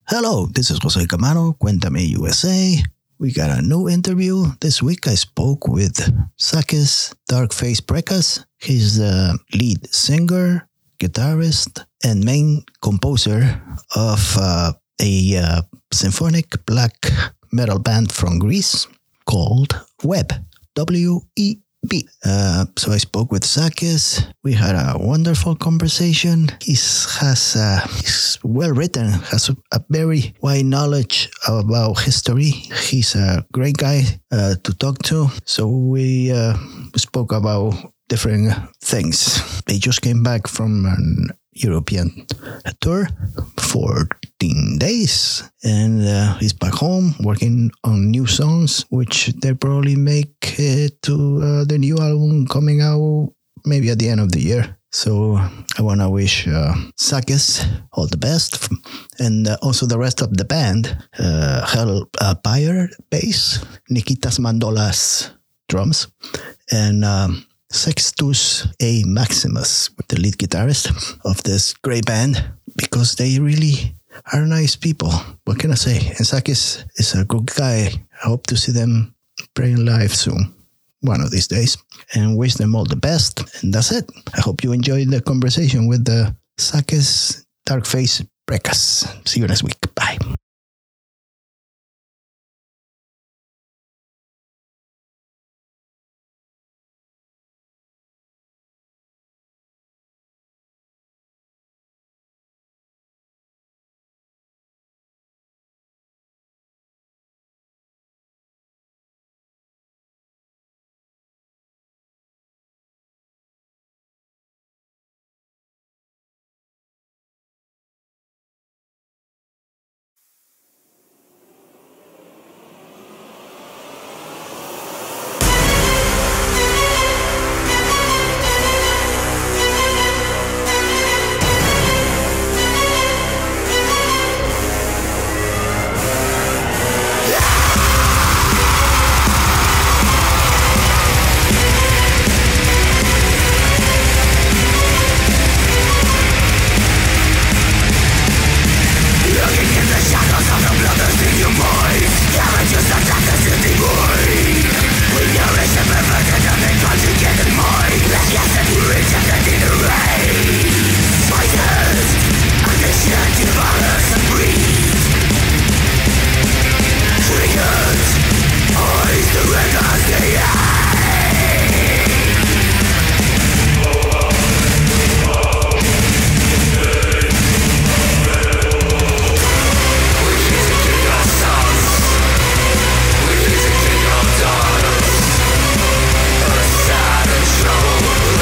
Hello, this is Jose Camano, Cuéntame USA. We got a new interview. This week I spoke with Sakis Darkface Precas. He's the lead singer, guitarist, and main composer of a symphonic black metal band from Greece called Web, W-E-B. So I spoke with Sakis. We had a wonderful conversation. He's well written, has a very wide knowledge about history. He's a great guy to talk to. So we spoke about different things. They just came back from an European tour, 14 days, and he's back home working on new songs, which they probably make it to the new album coming out maybe at the end of the year. So I want to wish Sakis all the best, and also the rest of the band, Hell Pyre bass, Nikitas Mandolas drums, and Sextus A. Maximus, the lead guitarist of this great band, because they really are nice people. What can I say? And Sakis is a good guy. I hope to see them playing live soon, one of these days, and wish them all the best. And that's it. I hope you enjoyed the conversation with the Sakis Darkface Precas. See you next week. Bye.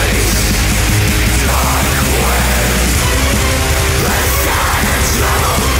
Trouble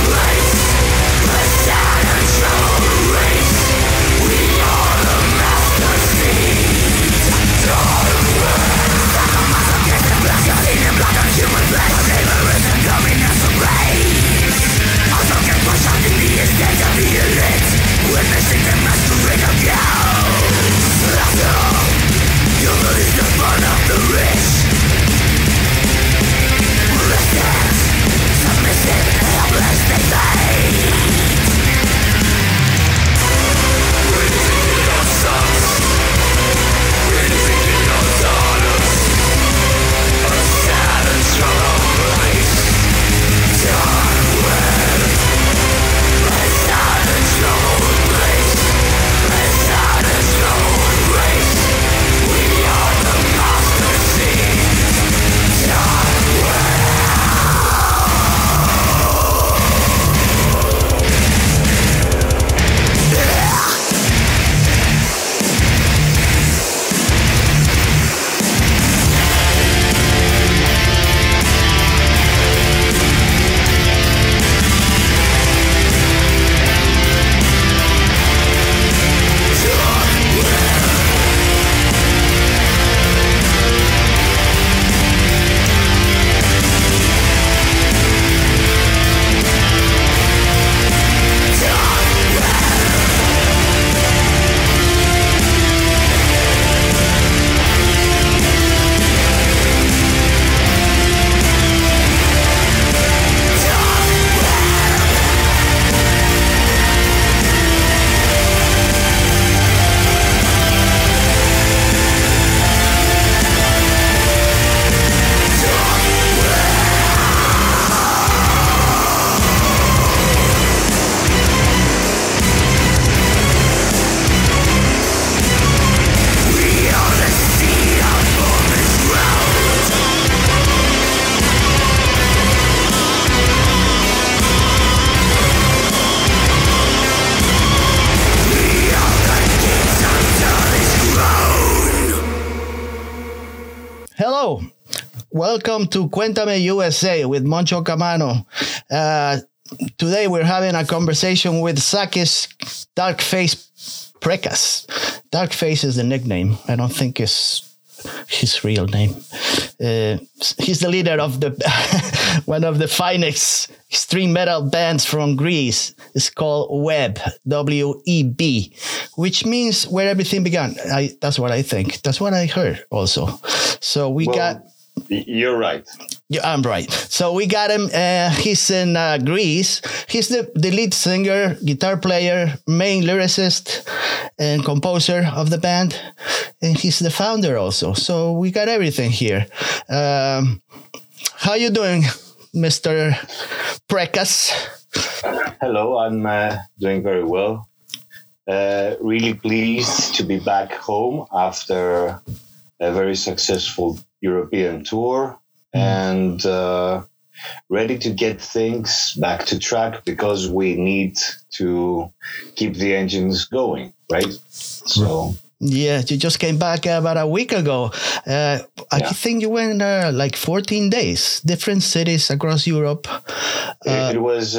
welcome to Cuéntame USA with Moncho Camano. Today we're having a conversation with Sakis Darkface Precas. Darkface is the nickname. I don't think it's his real name. He's the leader of the one of the finest extreme metal bands from Greece. It's called Web, W-E-B, which means where everything began. That's what I think. That's what I heard also. So You're right. Yeah, I'm right. So we got him. He's in Greece. He's the lead singer, guitar player, main lyricist, and composer of the band. And he's the founder also. So we got everything here. How you doing, Mr. Precas? Hello, I'm doing very well. Really pleased to be back home after a very successful European tour and ready to get things back to track because we need to keep the engines going, right? So yeah, you just came back about a week ago. I think you went like 14 days, different cities across Europe. It was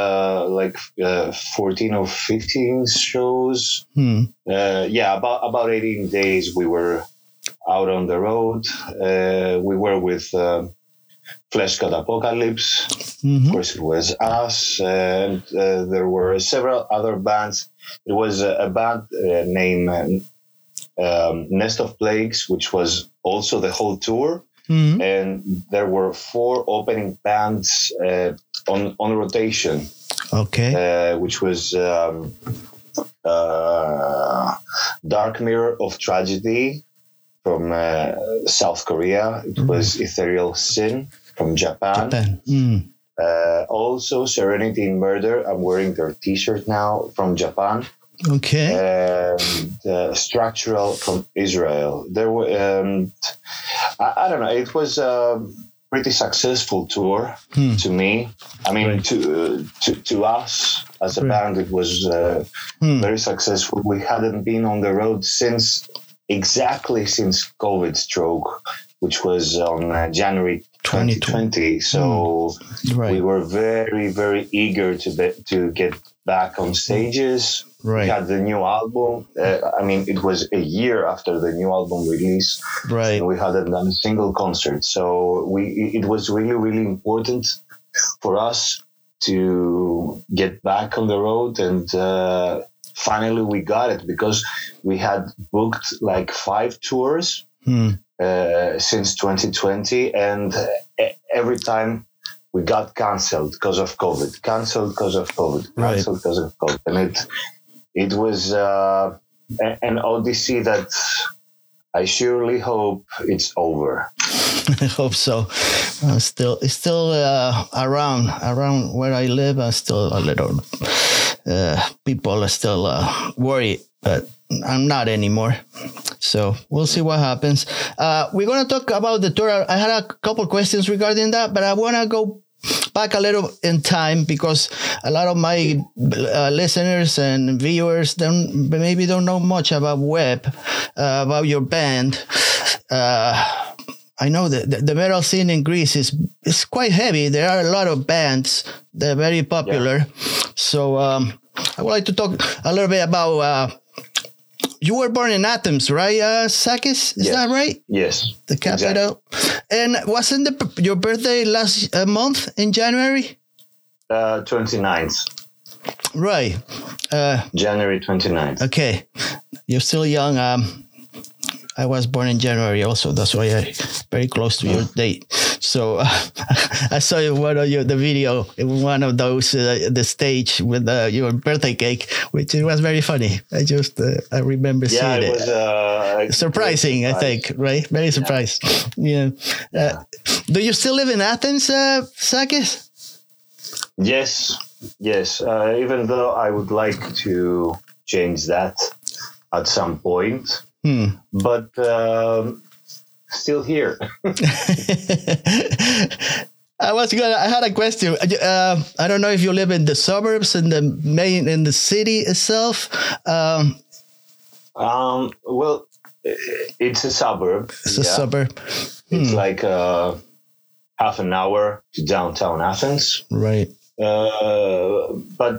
14 or 15 shows. About 18 days we were out on the road. We were with Flesh God Apocalypse. Of course, it was us. And there were several other bands. It was a band named Nest of Plagues, which was also the whole tour. And there were 4 opening bands on rotation. Okay. Which was Dark Mirror of Tragedy from South Korea. It was Ethereal Sin from Japan. Also Serenity in Murder. I'm wearing their t-shirt now from Japan. Okay. And Structural from Israel. There were, I don't know, it was a pretty successful tour to me. I mean, to us as a band, it was very successful. We hadn't been on the road since COVID stroke, which was on January 2020. So we were very, very eager to get back on stages. We had the new album. It was a year after the new album release. Right. And we hadn't done a single concert. So it was really, really important for us to get back on the road. And finally we got it because we had booked like 5 tours since 2020. And every time we got canceled because of COVID. And it was an odyssey that I surely hope it's over. I hope so. It's still around where I live. Still a little people are still worried, but I'm not anymore. So we'll see what happens. We're going to talk about the tour. I had a couple questions regarding that, but I want to go back a little in time because a lot of my listeners and viewers maybe don't know much about Web, about your band. I know that the metal scene in Greece is quite heavy. There are a lot of bands. They're very popular. Yeah. So I would like to talk a little bit about. You were born in Athens, right, Sakis? Is that right? Yes. The capital. Exactly. And wasn't your birthday last month in January? 29th. Right. January 29th. Okay. You're still young. I was born in January also. That's why I'm very close to your date. So I saw the video in one of those, the stage with your birthday cake, which it was very funny. I remember seeing it. Was surprising, I think, right? Very surprised. Yeah. Do you still live in Athens, Sakis? Yes. Even though I would like to change that at some point. But still here. I had a question. I don't know if you live in the suburbs, in the city itself. Well, it's a suburb. It's a suburb. It's like half an hour to downtown Athens. Right. But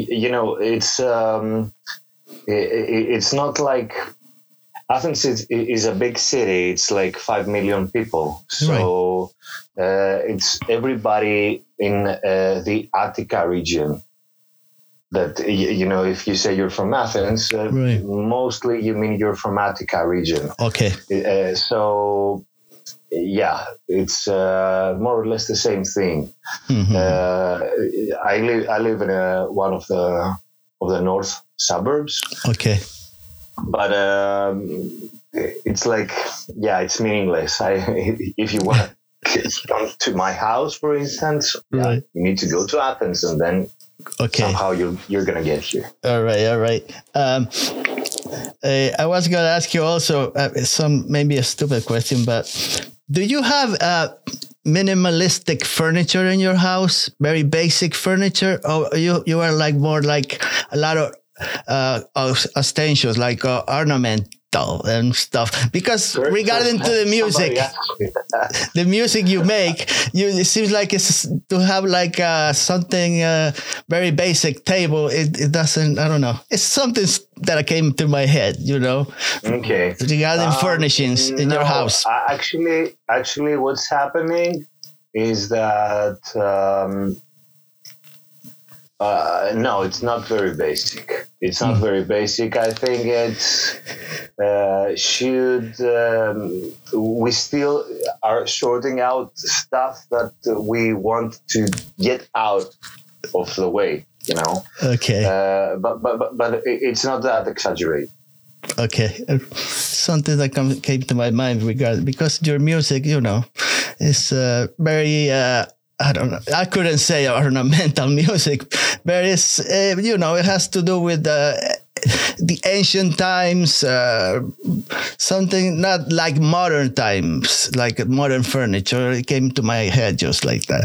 it's not like Athens is a big city. It's like 5 million people. So it's everybody in the Attica region. That, if you say you're from Athens, mostly you mean you're from Attica region. Okay. So, yeah, it's more or less the same thing. Mm-hmm. I live in one of the north suburbs. Okay. But it's like, it's meaningless. If you want to come to my house, for instance, you need to go to Athens, and then somehow you're gonna get here. All right. I was gonna ask you also maybe a stupid question, but do you have minimalistic furniture in your house? Very basic furniture, or you are like more like a lot of ostentatious, like ornamental and stuff? Because regarding to the music, the music you make, it seems like it's to have like something very basic table. It doesn't. I don't know. It's something that came to my head. Okay. Regarding furnishings in your house. Actually, what's happening is that. No, it's not very basic. It's not very basic. I think we still are sorting out stuff that we want to get out of the way, Okay. But it's not that exaggerated. Okay. Something that came to my mind because your music, is very... I don't know. I couldn't say ornamental music, but it's, it has to do with the ancient times, something not like modern times, like modern furniture. It came to my head just like that,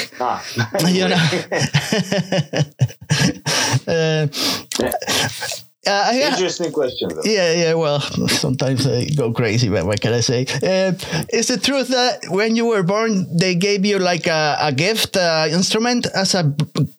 Interesting question, though. Yeah. Well, sometimes I go crazy, but what can I say? Is it truth that when you were born, they gave you like a gift instrument as a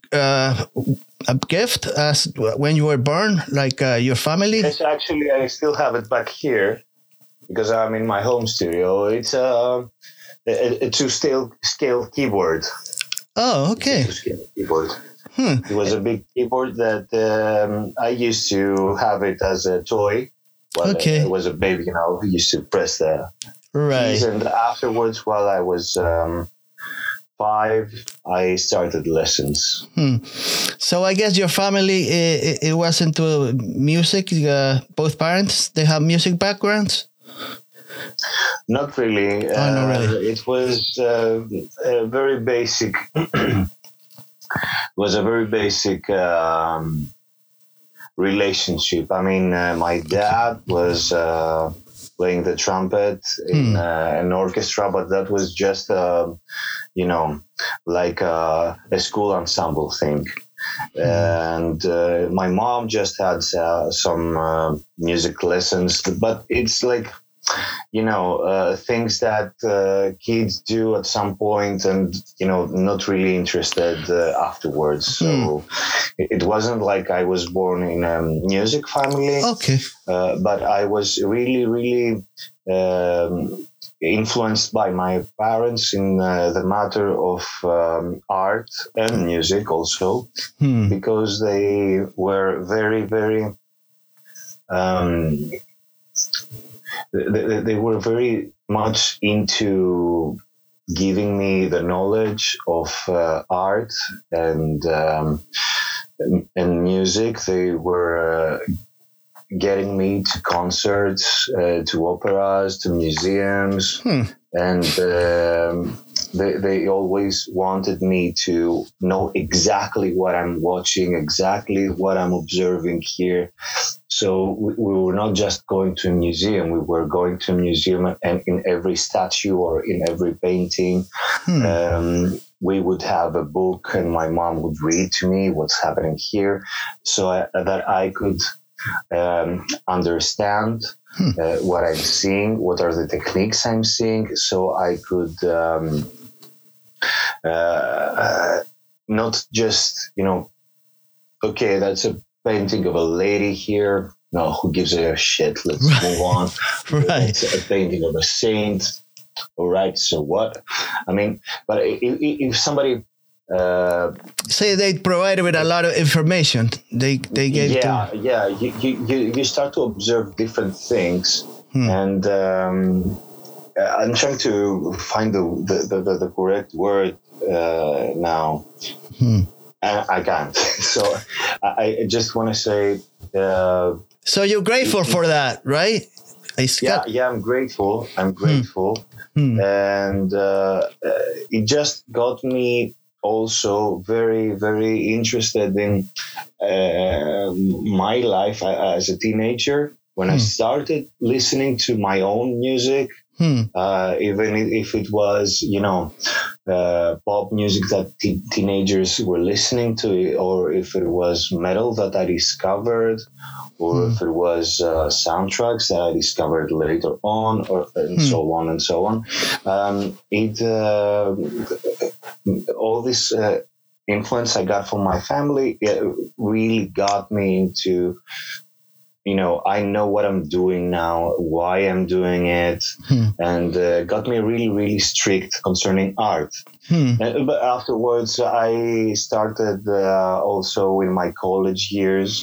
gift as when you were born, like your family? Yes, actually, I still have it back here because I'm in my home studio. It's a 2-scale keyboard. Oh, okay. It's a 2-scale keyboard. It was a big keyboard that I used to have it as a toy. While I was a baby, I used to press the keys. And afterwards, while I was 5, I started lessons. So I guess your family, it was into music. Both parents, they have music backgrounds? Not really. Not really. It was a very basic... was a very basic relationship. I mean, my dad was playing the trumpet in an orchestra, but that was just, like a school ensemble thing. And my mom just had some music lessons, but it's like, things that kids do at some point and, not really interested afterwards. So it wasn't like I was born in a music family. Okay. But I was really, really influenced by my parents in the matter of art and music also, because they were very, very... They were very much into giving me the knowledge of art and music. They were getting me to concerts, to operas, to museums, and they always wanted me to know exactly what I'm watching, exactly what I'm observing here. So we were not just going to a museum, we were going to a museum, and in every statue or in every painting, we would have a book and my mom would read to me what's happening here so that I could understand what I'm seeing, what are the techniques I'm seeing, so I could not just, okay, that's a painting of a lady here. No, who gives a shit? Let's move on. Right. It's a painting of a saint. All right, so what? I mean, but if somebody say they provided with a lot of information, they gave you start to observe different things, and I'm trying to find the correct word now. I can't. So I just want to say. So you're grateful for that, right? I'm grateful. And it just got me also very, very interested in my life as a teenager. When I started listening to my own music, even if it was, pop music that teenagers were listening to, or if it was metal that I discovered, or if it was soundtracks that I discovered later on, and so on and so on. All this influence I got from my family, it really got me into, I know what I'm doing now, why I'm doing it, and got me really, really strict concerning art. But afterwards, I started also in my college years.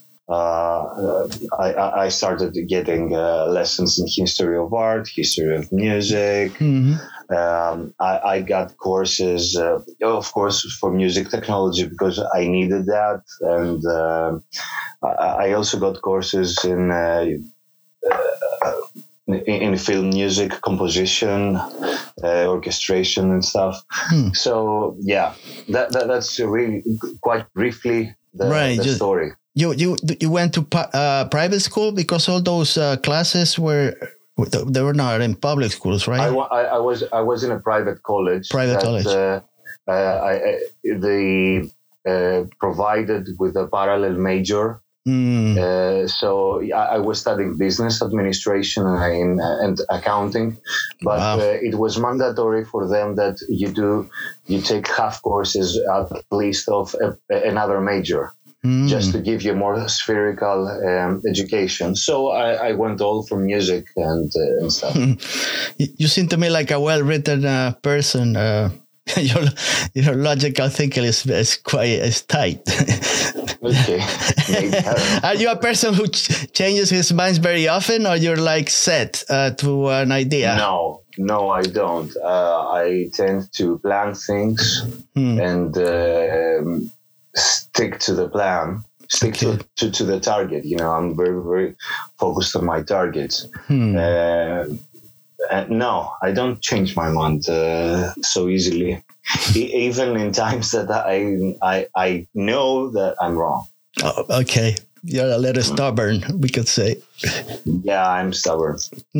I started getting lessons in history of art, history of music. I got courses, of course, for music technology because I needed that. And I also got courses in film music composition, orchestration and stuff. So, yeah, that's really quite briefly the story. You went to private school because all those classes they were not in public schools, right? I was in a private college. They provided with a parallel major. So I was studying business administration and accounting, but it was mandatory for them that you take half courses at least of another major. Just to give you a more spherical education. So I went all for music and stuff. You seem to me like a well-written person. Your logical thinking is tight. Okay. Are you a person who changes his mind very often, or you're like set to an idea? No, I don't. I tend to plan things and stick to the plan, to the target. I'm very, very focused on my targets. No, I don't change my mind so easily, even in times that I know that I'm wrong. Oh, okay. You're a little stubborn, we could say. Yeah, I'm stubborn.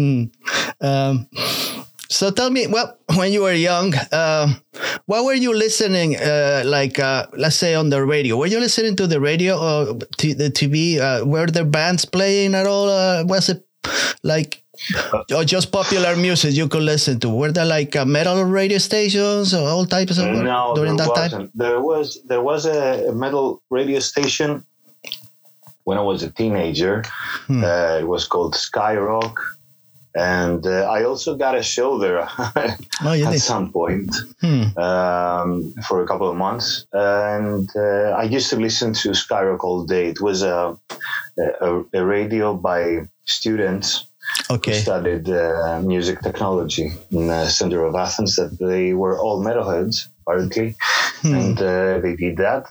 So tell me, when you were young, what were you listening, let's say on the radio? Were you listening to the radio or the TV? Were there bands playing at all? Was it or just popular music you could listen to? Were there metal radio stations or all types of during that time? There was a metal radio station when I was a teenager. It was called Skyrock. And I also got a show there at some point for a couple of months. And I used to listen to Skyrock all day. It was a radio by students who studied music technology in the center of Athens. That they were all metalheads, apparently, and they did that.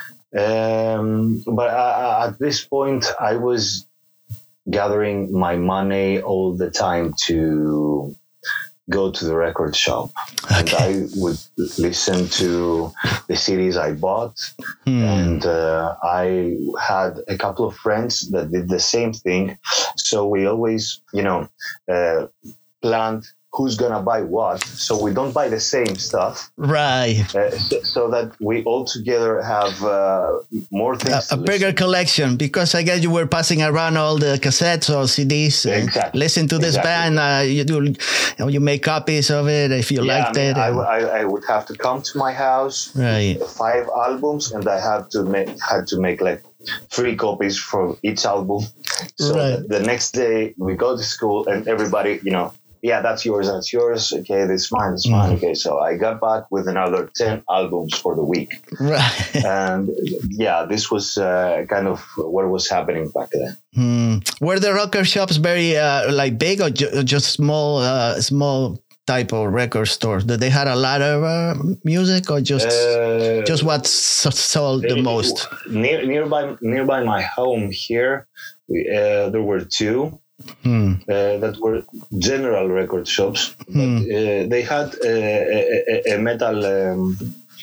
But at this point, I was gathering my money all the time to go to the record shop. And I would listen to the CDs I bought. And I had a couple of friends that did the same thing. So we always, planned who's gonna buy what, so we don't buy the same stuff, right? So that we all together have more things. A bigger collection, because I guess you were passing around all the cassettes or CDs. Exactly. Listen to this band. You make copies of it if you liked it. I would have to come to my house, right? 5 albums, and I had to make like 3 copies for each album. So the next day we go to school and everybody, yeah, that's yours. Okay, this is mine. Okay, so I got back with another 10 albums for the week. Right. And yeah, this was kind of what was happening back then. Were the record shops very like big, or just small type of record stores? Did they had a lot of music, or just what sold the most? Nearby my home here, there were 2. That were general record shops, but they had a metal.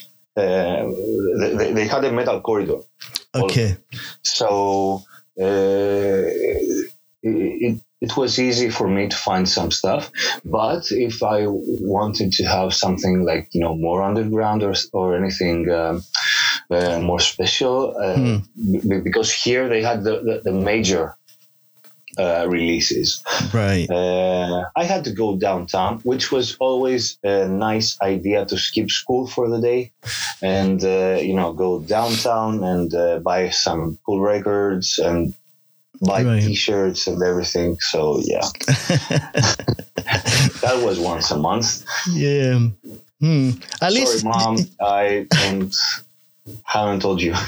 They had a metal corridor. Okay, so it was easy for me to find some stuff. But if I wanted to have something like more underground or anything more special, because here they had the major releases. Right. I had to go downtown, which was always a nice idea, to skip school for the day and go downtown and buy some cool records and buy T-shirts and everything. So yeah, that was once a month. Yeah. At least, Mom, I haven't told you.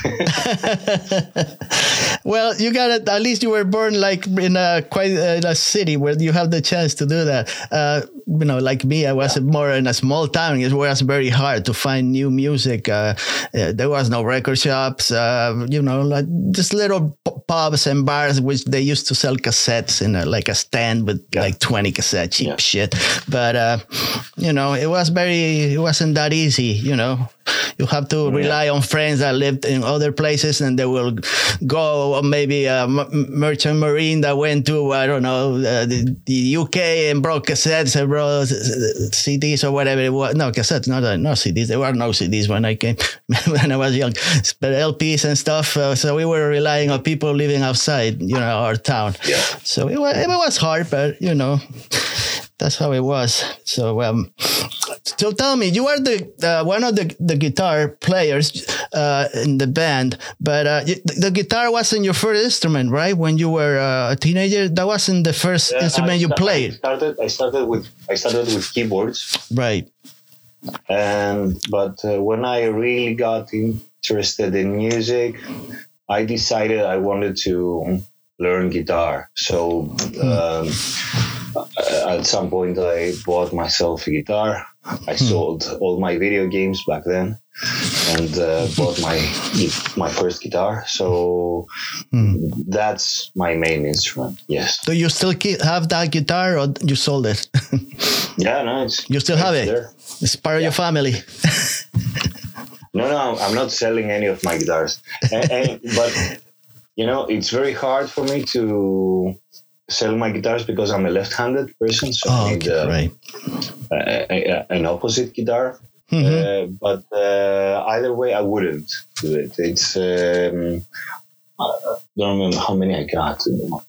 Well, you got it. At least you were born like in a city where you have the chance to do that. Like me, I was more in a small town. It was very hard to find new music. There was no record shops. Like just little pubs and bars which they used to sell cassettes in a stand with like 20 cassettes, cheap shit. But it wasn't that easy. You have to rely on friends that lived in other places, and they will go maybe a merchant marine that went to, I don't know, the UK and brought cassettes and brought CDs or whatever it was. No, cassettes, not CDs. There were no CDs when I came, when I was young, but LPs and stuff. So we were relying on people living outside, our town. Yeah. So it was hard, but, that's how it was. So tell me, you are the one of the guitar players in the band, but the guitar wasn't your first instrument, right? When you were a teenager, that wasn't the first instrument you played. I started with keyboards, right? But when I really got interested in music, I decided I wanted to learn guitar. So. At some point, I bought myself a guitar. I sold all my video games back then, and bought my first guitar. So that's my main instrument. Yes. Do you still have that guitar, or you sold it? Yeah, no, you still have it. There. It's part of your family. No, I'm not selling any of my guitars. But it's very hard for me to sell my guitars because I'm a left-handed person, so I need an opposite guitar. But either way, I wouldn't do it. It's I don't remember how many I got.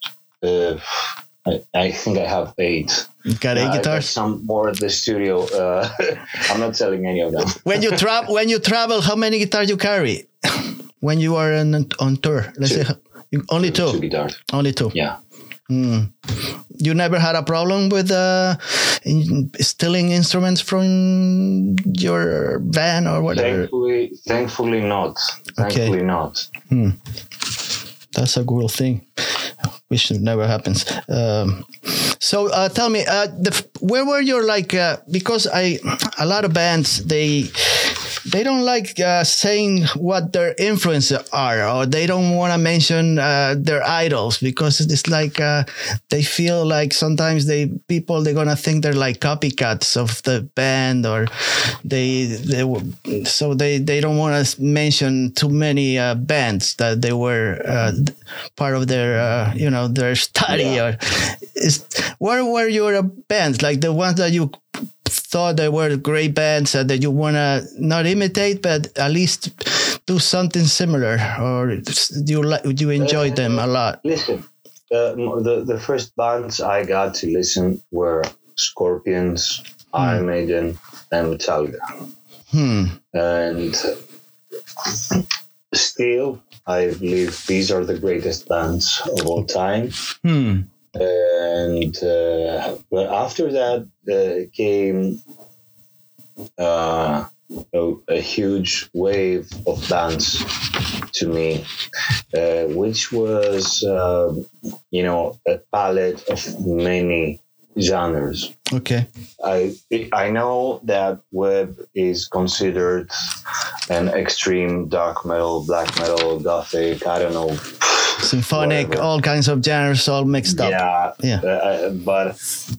I think I have 8. You got 8 guitars? Some more at the studio. I'm not selling any of them. When you travel, how many guitars you carry when you are on tour? Let's say only 2. 2 guitars. Only 2. Yeah. You never had a problem with stealing instruments from your van or whatever? Thankfully not. Thankfully not. That's a cool thing. Which never happens. So tell me, where were your because a lot of bands they don't like saying what their influences are, or they don't want to mention their idols, because it's like they feel like sometimes they're gonna think they're like copycats of the band, or they don't want to mention too many bands that they were part of their their study. Yeah. What were your bands, like the ones that you thought they were great bands that you want to not imitate, but at least do something similar, or do you enjoy them a lot? Listen, the first bands I got to listen were Scorpions, Iron Maiden, and Metallica. And still, I believe these are the greatest bands of all time. And but after that came a huge wave of bands to me, which was a palette of many genres. Okay. I know that Webb is considered an extreme dark metal, black metal, gothic, I don't know, symphonic, whatever. All kinds of genres all mixed up. But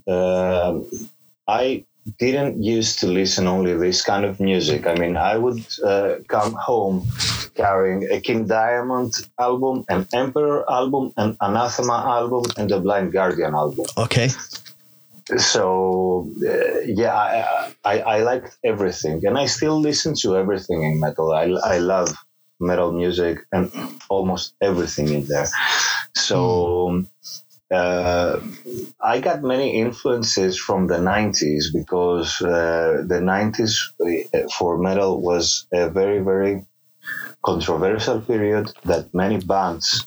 I didn't used to listen only this kind of music. I mean, I would come home carrying a King Diamond album, an Emperor album, an Anathema album, and a Blind Guardian album. Okay. So I liked everything, and I still listen to everything in metal. I love metal music and almost everything in there. So I got many influences from the 90s, because the 90s for metal was a very, very controversial period that many bands,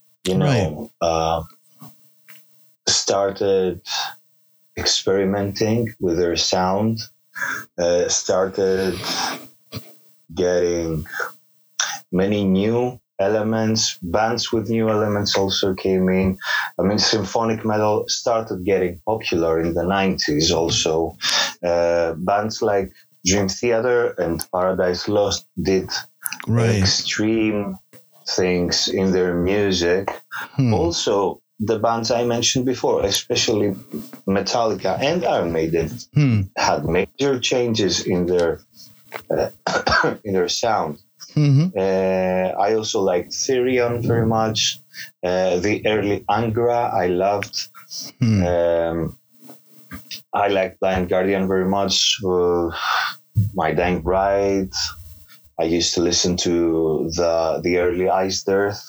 started experimenting with their sound, started getting many new elements. Bands with new elements also came in. I mean, symphonic metal started getting popular in the 90s also. Bands like Dream Theater and Paradise Lost did extreme things in their music. Also, the bands I mentioned before, especially Metallica and Iron Maiden, had major changes in their sound. I also liked Therion very much. The early Angra I loved. I liked Blind Guardian very much. My Dying Bride. I used to listen to the early Iced Earth.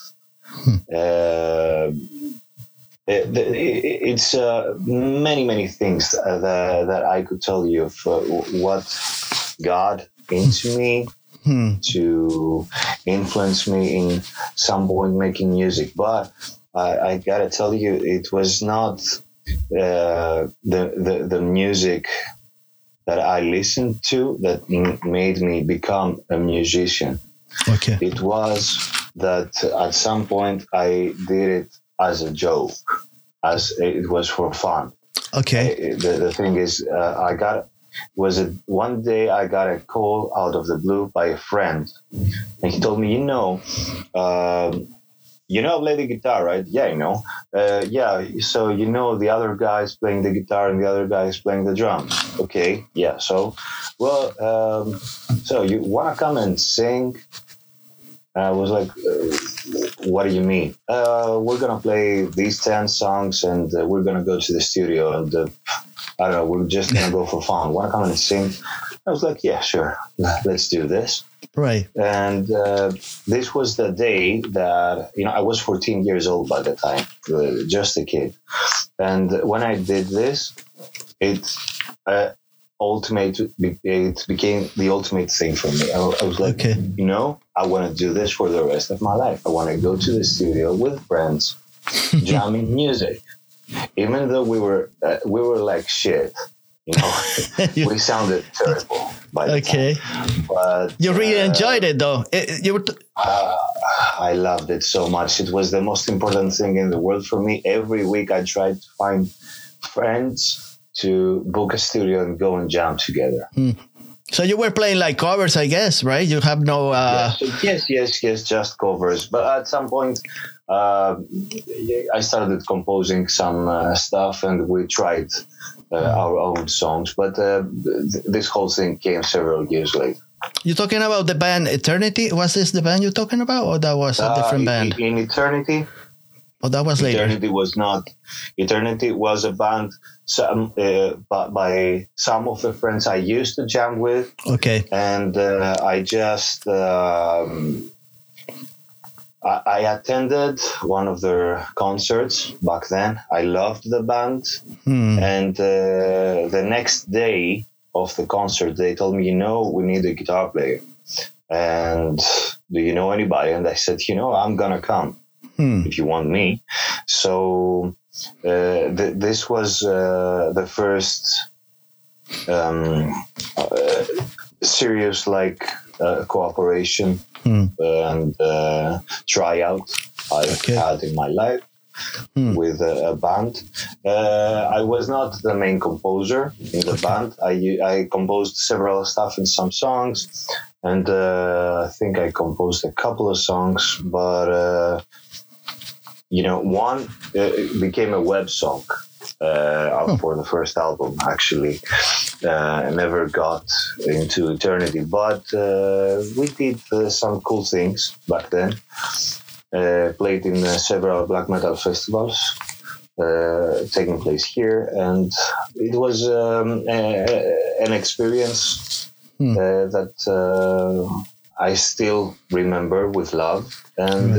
It's many things that I could tell you of what got into me to influence me in some point making music. But I gotta tell you, it was not the music that I listened to that made me become a musician. Okay. It was that at some point I did it as a joke, as it was for fun. Okay. The thing is, one day I got a call out of the blue by a friend, and he told me, you know, I play the guitar, right? Yeah, I know. Yeah, so you know the other guy's playing the guitar and the other guy is playing the drums. Okay, yeah. So, so you want to come and sing? I was like, what do you mean? We're going to play these 10 songs and we're going to go to the studio and I don't know, we're just going to go for fun. Want to come and sing? I was like, yeah, sure. Let's do this. Right. And this was the day that, I was 14 years old by the time, just a kid. And when I did this, it became the ultimate thing for me. I was like, okay. I want to do this for the rest of my life. I want to go to the studio with friends, jamming music. Even though we were like shit, we sounded terrible by the time. But you really enjoyed it, though. I loved it so much. It was the most important thing in the world for me. Every week I tried to find friends to book a studio and go and jam together. So you were playing like covers, I guess, right? You have no. Yes, just covers. But at some point, I started composing some stuff, and we tried our own songs. But this whole thing came several years later. You're talking about the band Eternity? Was this the band you're talking about, or that was a different band? In Eternity. Oh, that was later. Eternity was not. Eternity was a band by some of the friends I used to jam with. Okay. And I just I attended one of their concerts back then. I loved the band, and the next day of the concert, they told me, we need a guitar player. And do you know anybody? And I said, I'm gonna come. If you want me. So this was the first serious cooperation and tryout I've had in my life with a band. I was not the main composer in the band. I composed several stuff in some songs, and I think I composed a couple of songs, but one became a web song for the first album, actually. I never got into Eternity, but we did some cool things back then. Played in several black metal festivals taking place here, and it was an experience that I still remember with love. And,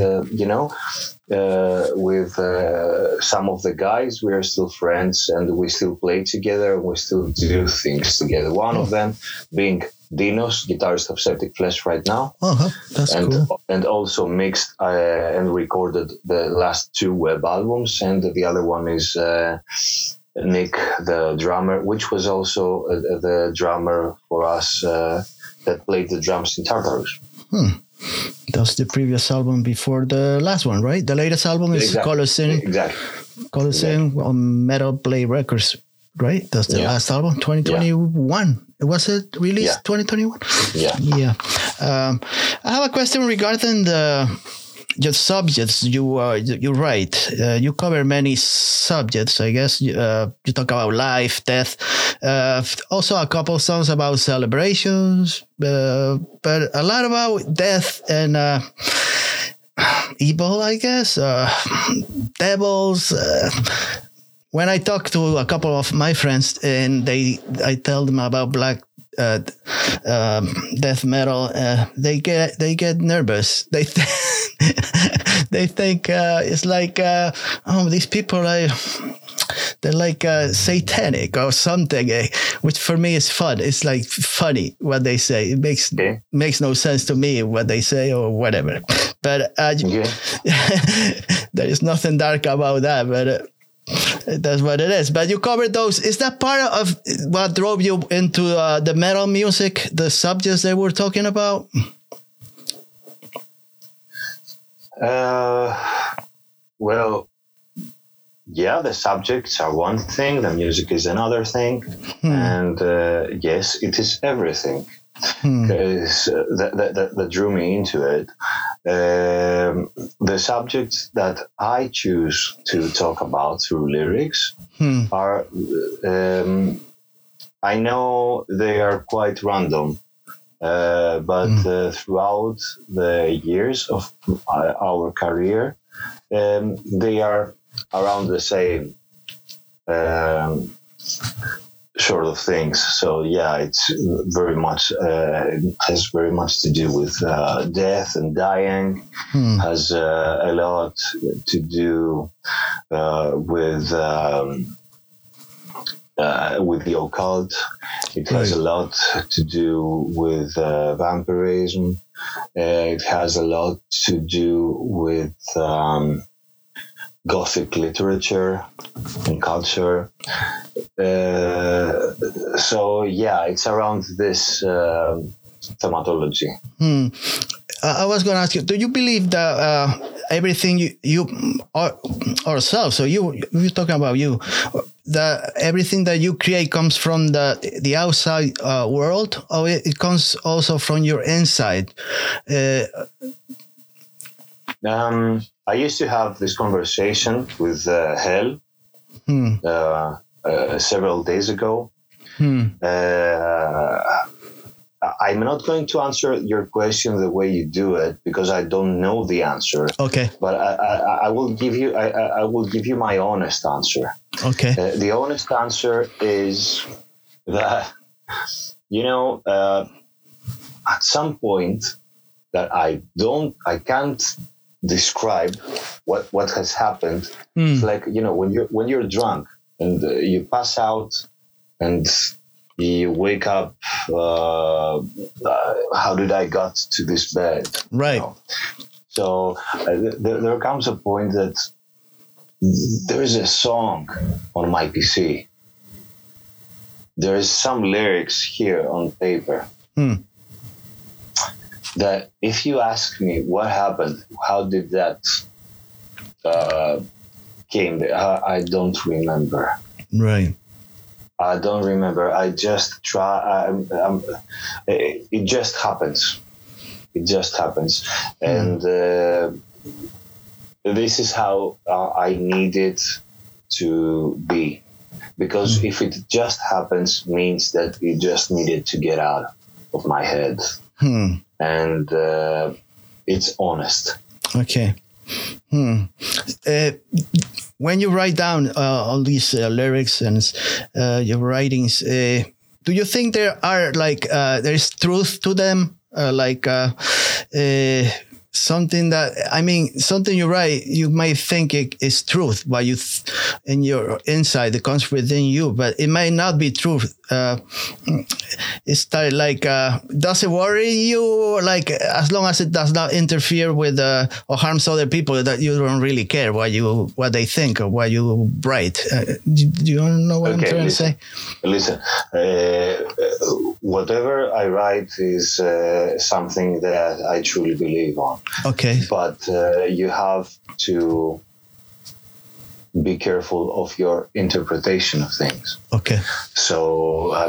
with some of the guys, we are still friends, and we still play together, and we still do things together. One of them being Dinos, guitarist of Septic Flesh right now. That's cool. And also mixed and recorded the last 2 web albums. And the other one is Nick, the drummer, which was also the drummer for us that played the drums in Tartarus. That's the previous album before the last one, right? The latest album is Colosseum. Exactly. Colosseum on Metal Play Records, right? That's the last album, 2021. Was it released 2021? Yeah. I have a question regarding your subjects you write. You cover many subjects, I guess. You talk about life, death, also a couple songs about celebrations, but a lot about death and evil, I guess, devils. When I talk to a couple of my friends and I tell them about black death metal, they get nervous. They think it's like these people they're like satanic or something, which for me is fun. It's like funny what they say. It makes no sense to me what they say or whatever. But there is nothing dark about that. But that's what it is. But you covered those. Is that part of what drove you into the metal music, the subjects they were talking about? Well, yeah, the subjects are one thing, the music is another thing. And yes, it is everything. Because that drew me into it. The subjects that I choose to talk about through lyrics are, I know they are quite random, but throughout the years of our career, they are around the same sort of things. So yeah, it's very much it has very much to do with death and dying. Has a lot to do with the occult. It has a lot to do with vampirism. It has a lot to do with Gothic literature and culture. So yeah, it's around this thematology. I was going to ask you, do you believe that everything you ourselves, so you're talking about you that everything that you create comes from the outside world, or it comes also from your inside? I used to have this conversation with Hel several days ago. I'm not going to answer your question the way you do it because I don't know the answer. Okay. But I will give you I will give you my honest answer. Okay. The honest answer is that at some point that I can't describe what has happened. It's like when you're drunk and you pass out and you wake up, how did I got to this bed? Right. So there comes a point that there is a song on my PC. There is some lyrics here on paper that if you ask me what happened, how did that came, I don't remember. Right. I don't remember. I just try. It just happens. It just happens, and this is how I need it to be. Because if it just happens, means that it just needed to get out of my head, and it's honest. Okay. When you write down all these lyrics and your writings, do you think there are there's truth to them? Something something you write, you might think it is truth, but in your inside, it comes within you, but it might not be truth. It's does it worry you? As long as it does not interfere with or harms other people, that you don't really care what they think or what you write. Do you know what I'm trying to say? Listen, whatever I write is something that I truly believe on. Okay. But you have to be careful of your interpretation of things. Okay. So, I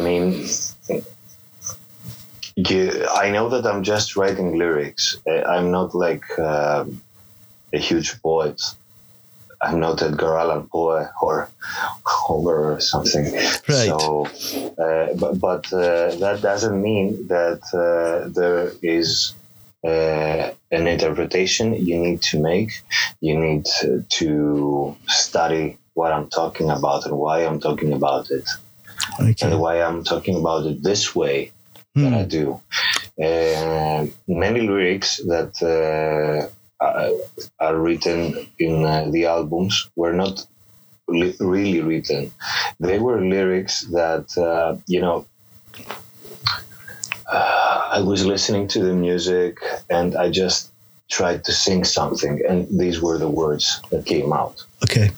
know that I'm just writing lyrics. I'm not like a huge poet. I'm not Edgar Allan Poe or Homer or something. Right. So, but that doesn't mean that there is an interpretation you need to make. You need to study what I'm talking about and why I'm talking about it, and why I'm talking about it this way that I do. Many lyrics that are written in the albums were not really written. They were lyrics that I was listening to the music and I just tried to sing something, and these were the words that came out. Okay.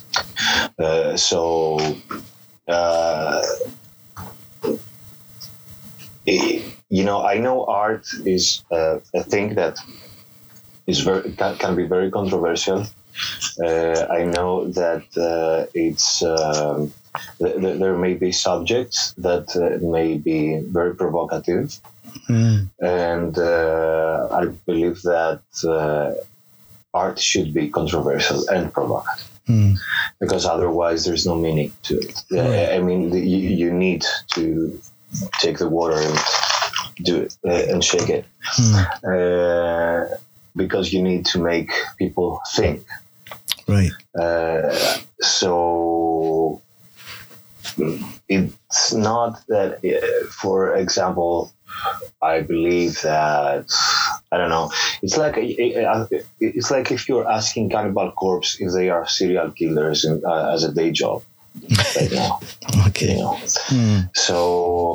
I know art is a thing that is can be very controversial. I know that there may be subjects that may be very provocative, and I believe that art should be controversial and provocative, because otherwise there's no meaning to it. You need to take the water and do it and shake it, because you need to make people think. Right. So it's not that, for example, I believe that, I don't know, it's like if you're asking Cannibal Corpse if they are serial killers as a day job right now. Okay. So,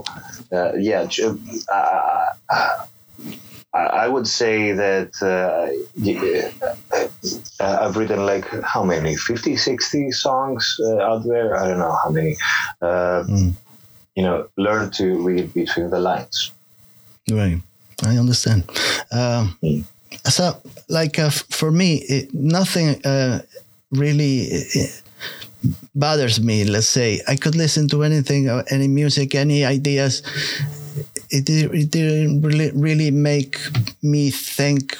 I would say that I've written like how many, 50, 60 songs out there. I don't know how many. Learn to read between the lines. Right. I understand. So, for me, nothing really bothers me. Let's say I could listen to anything, any music, any ideas. It didn't really make me think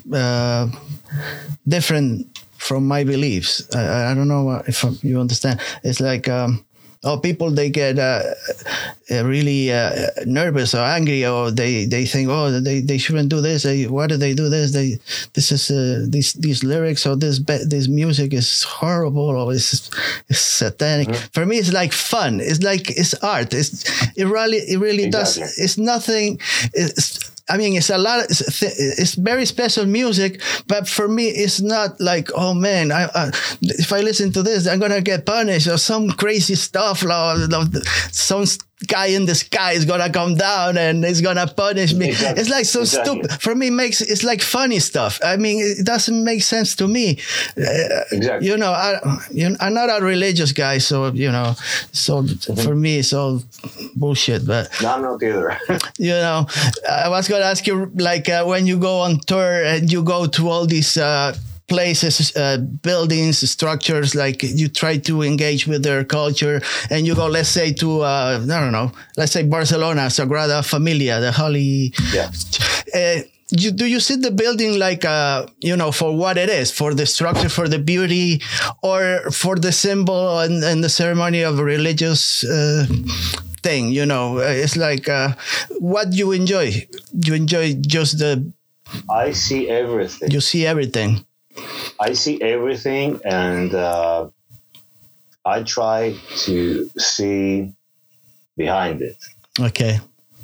different from my beliefs. I don't know if you understand. It's like people, they get really nervous or angry, or they think, they shouldn't do this. Why do they do this? These lyrics or this music is horrible, or it's satanic. Mm-hmm. For me, it's like fun. It's art. It really does. It's nothing. It's a lot. It's very special music, but for me, it's not like, oh man, if I listen to this, I'm gonna get punished or some crazy stuff. Some guy in the sky is gonna come down and it's gonna punish me. Exactly. It's like so stupid. For me, it's like funny stuff. I mean, it doesn't make sense to me. Exactly. I'm not a religious guy, so for me, it's all bullshit. But no, I'm not either. I was gonna ask you, like, when you go on tour and you go to all these places, buildings, structures, like you try to engage with their culture, and you go, let's say, to I don't know, let's say Barcelona, Sagrada Familia, the Holy. Yeah. Do you see the building like for what it is, for the structure, for the beauty, or for the symbol and the ceremony of a religious thing? It's like what you enjoy. You enjoy just the. I see everything. You see everything. I see everything, and I try to see behind it. Okay.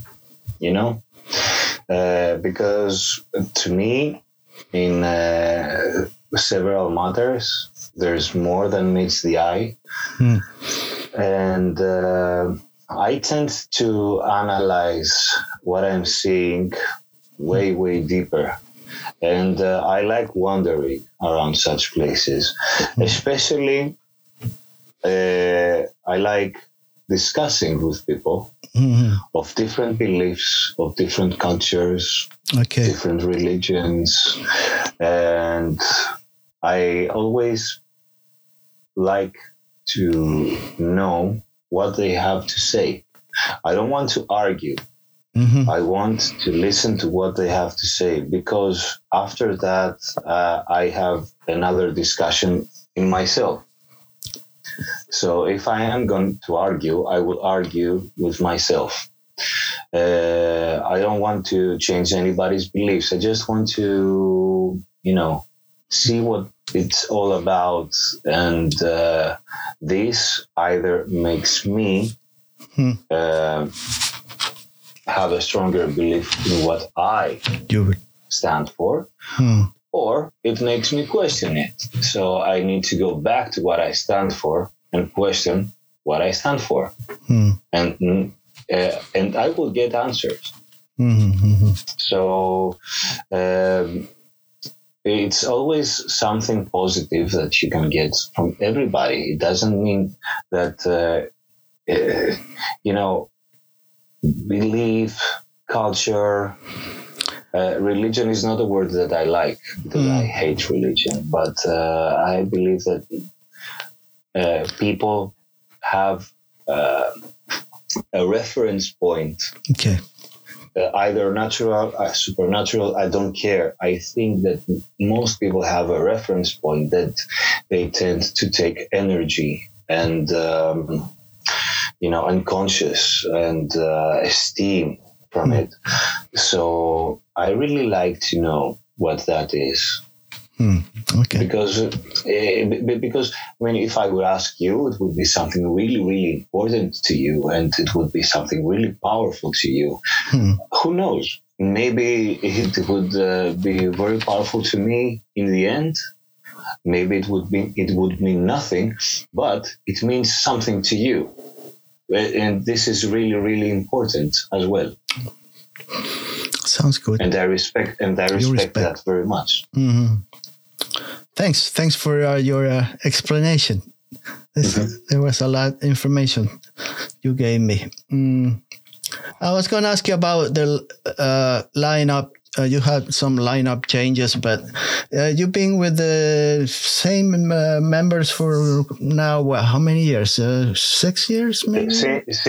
Because to me, in several matters, there's more than meets the eye. And I tend to analyze what I'm seeing way, way deeper. And I like wandering around such places. Especially, I like discussing with people of different beliefs, of different cultures, different religions. And I always like to know what they have to say. I don't want to argue. I want to listen to what they have to say, because after that, I have another discussion in myself. So if I am going to argue, I will argue with myself. I don't want to change anybody's beliefs. I just want to, see what it's all about. And this either makes me have a stronger belief in what I stand for, or it makes me question it. So I need to go back to what I stand for and question what I stand for, and I will get answers. So it's always something positive that you can get from everybody. It doesn't mean that belief, culture, religion is not a word that I like, because I hate religion. But I believe that people have a reference point. Okay. Either natural, supernatural, I don't care. I think that most people have a reference point that they tend to take energy and unconscious and esteem from it. So I really like to know what that is. Okay. Because if I would ask you, it would be something really, really important to you, and it would be something really powerful to you. Who knows? Maybe it would be very powerful to me in the end. Maybe it would mean nothing, but it means something to you. And this is really, really important as well. Sounds good. And I respect that very much. Thanks for your explanation. There was a lot of information you gave me. I was going to ask you about the lineup you had some lineup changes, but you've been with the same members for now. How many years? 6 years, maybe. Since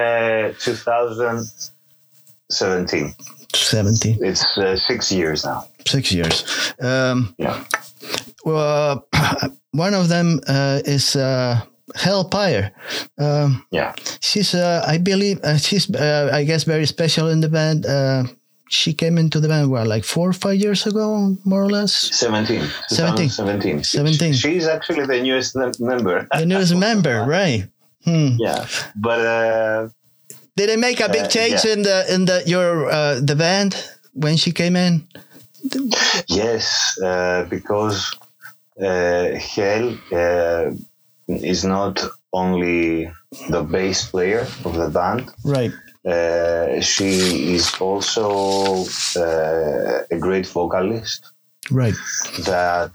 2017. 17. It's 6 years now. 6 years. Yeah. Well, one of them is Hellpire. Yeah. She's, I believe, she's, I guess, very special in the band. She came into the band, like 4 or 5 years ago, more or less? 17. 17. She's actually the newest member. The newest member, right. Yeah. But... did it make a big change in the band when she came in? Yes, because Hel is not only the bass player of the band. Right. She is also a great vocalist. Right. That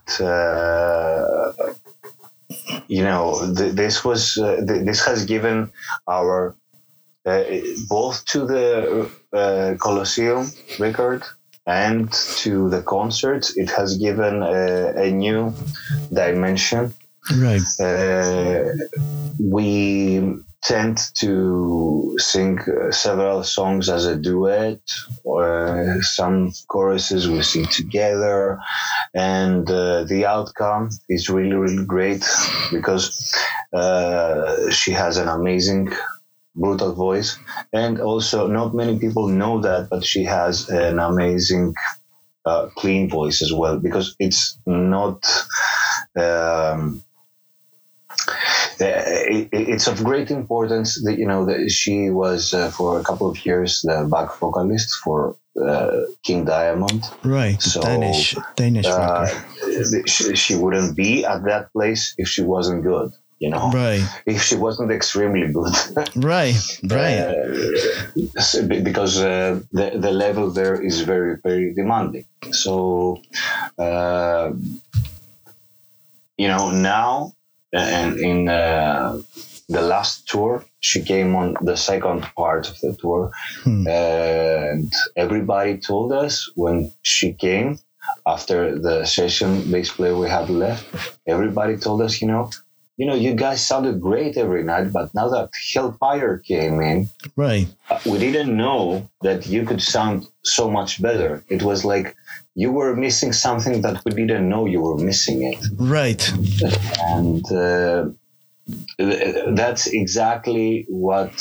this has given our both to the Colosseum record and to the concerts, it has given a new dimension. Right. We tend to sing several songs as a duet, or some choruses we sing together, and the outcome is really, really great because she has an amazing brutal voice, and also not many people know that, but she has an amazing clean voice as well, because it's not it's of great importance that that she was for a couple of years the back vocalist for King Diamond, right? So Danish rocker. She wouldn't be at that place if she wasn't good. Right. If she wasn't extremely good. Right. Because the level there is very, very demanding. So, now and in the last tour, she came on the second part of the tour. And everybody told us when she came, after the session bass player we had left, everybody told us, you guys sounded great every night, but now that Hellpire came in, right, we didn't know that you could sound so much better. It was like you were missing something that we didn't know you were missing it. Right. And that's exactly what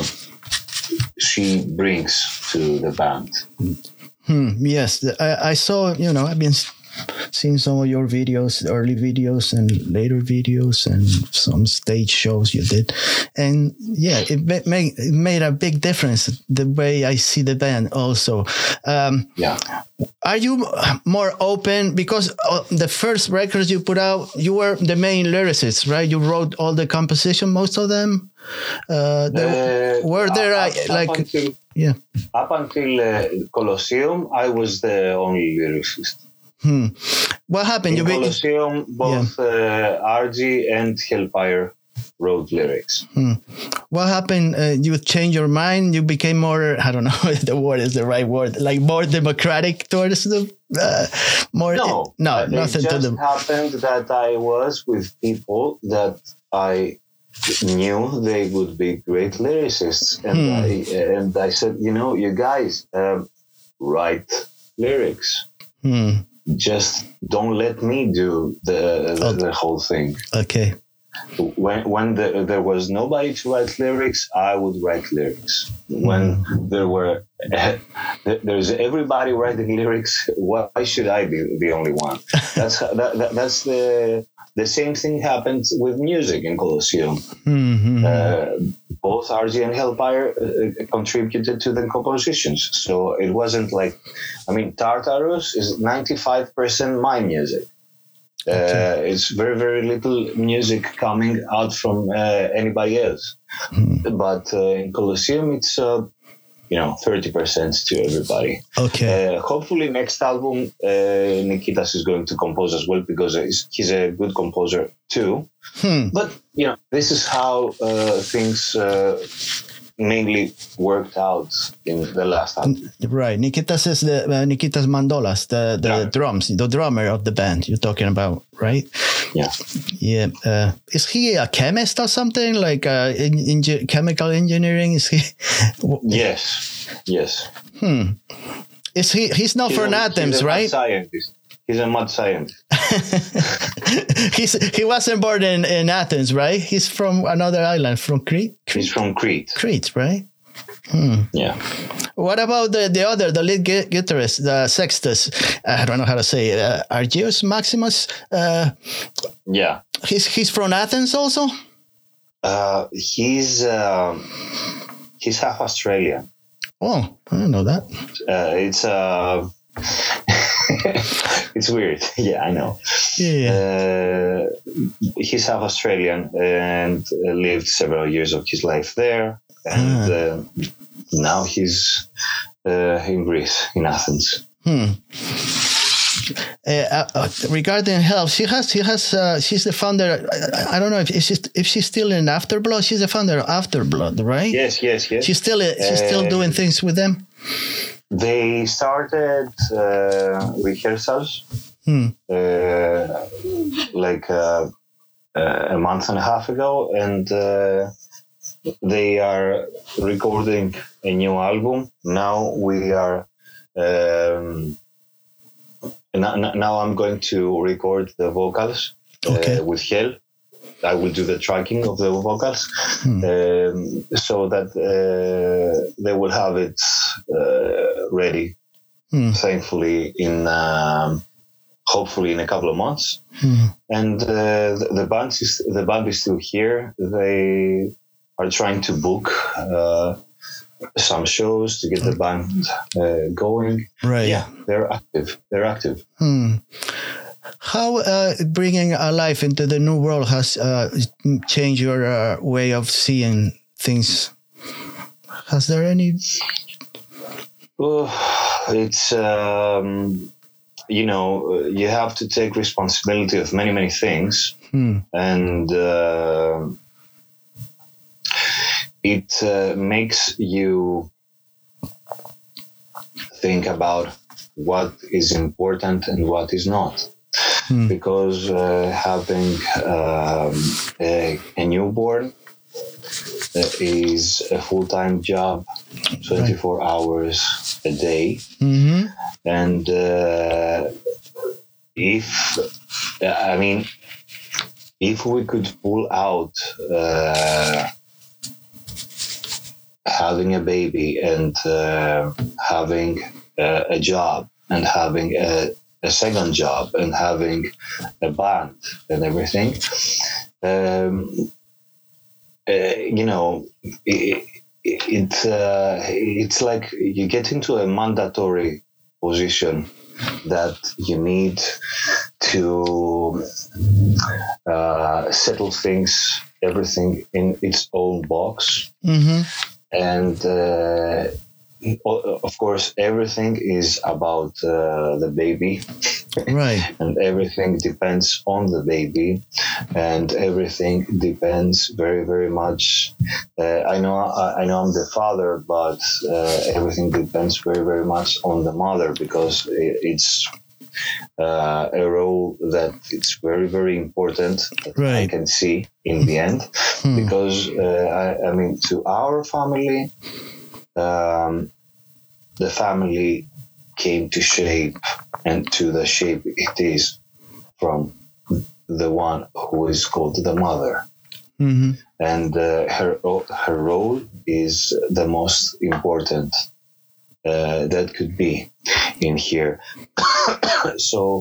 she brings to the band. Yes, I saw, I've been seeing some of your videos, early videos and later videos, and some stage shows you did. And yeah, it made a big difference, the way I see the band also. Are you more open? Because the first records you put out, you were the main lyricist, right? You wrote all the composition, most of them. Up until Colosseum, I was the only lyricist. What happened? In Colosseum, both RG and Hellpire wrote lyrics. What happened? You changed your mind? You became more, I don't know if the word is the right word, like more democratic towards the more? No, nothing it to just happened that I was with people that I knew they would be great lyricists. And I said, you guys write lyrics. Just don't let me do the whole thing. Okay. When there was nobody to write lyrics, I would write lyrics. When there's everybody writing lyrics, why should I be the only one? That's the same thing happened with music in Colosseum. Both RG and Hellpire contributed to the compositions. So it wasn't like, Tartarus is 95% my music. It's very, very little music coming out from anybody else. But in Colosseum, it's 30% to everybody. Okay. Hopefully next album, Nikitas is going to compose as well, because he's a good composer too. But, this is how things mainly worked out in the last album. Right. Nikitas is Nikitas Mandolas, the drums, the drummer of the band you're talking about, right? Yeah. Yeah. Is he a chemist or something, like chemical engineering? Is he? Yes. Is he's not from Athens, right? Scientist. He's a mad scientist. He wasn't born in Athens, right? He's from another island, from Crete. He's from Crete. Crete, right? Yeah. What about the lead guitarist, the Sextus? I don't know how to say it. Argeus Maximus. Yeah. He's from Athens also. He's half Australian. Oh, I didn't know that. It's weird. Yeah, I know. Yeah. He's half Australian and lived several years of his life there. And now he's in Greece, in Athens. Regarding health, she's the founder. I don't know if she's still in Afterblood. She's the founder of Afterblood, right? Yes. She's still doing things with them. They started rehearsals like a month and a half ago, and they are recording a new album. Now we are. Now I'm going to record the vocals with Hel. I will do the tracking of the vocals so that they will have it ready, thankfully, hopefully in a couple of months. And the band is still here. They are trying to book some shows to get the band going. Right. Yeah, they're active. How bringing a life into the new world has changed your way of seeing things? Has there any? It's you have to take responsibility of many things, and it makes you think about what is important and what is not. Because having a newborn is a full-time job, 24 hours a day. And if we could pull out having a baby and having a job and having a second job and having a band and everything, it's like you get into a mandatory position that you need to settle everything in its own box. And of course, everything is about the baby, right? And everything depends on the baby, and everything depends very, very much. I know I'm the father, but everything depends very, very much on the mother, because it's a role that it's very, very important. Right. I can see in the end, because to our family. The family came to shape and to the shape it is from the one who is called the mother. And her role is the most important that could be in here. So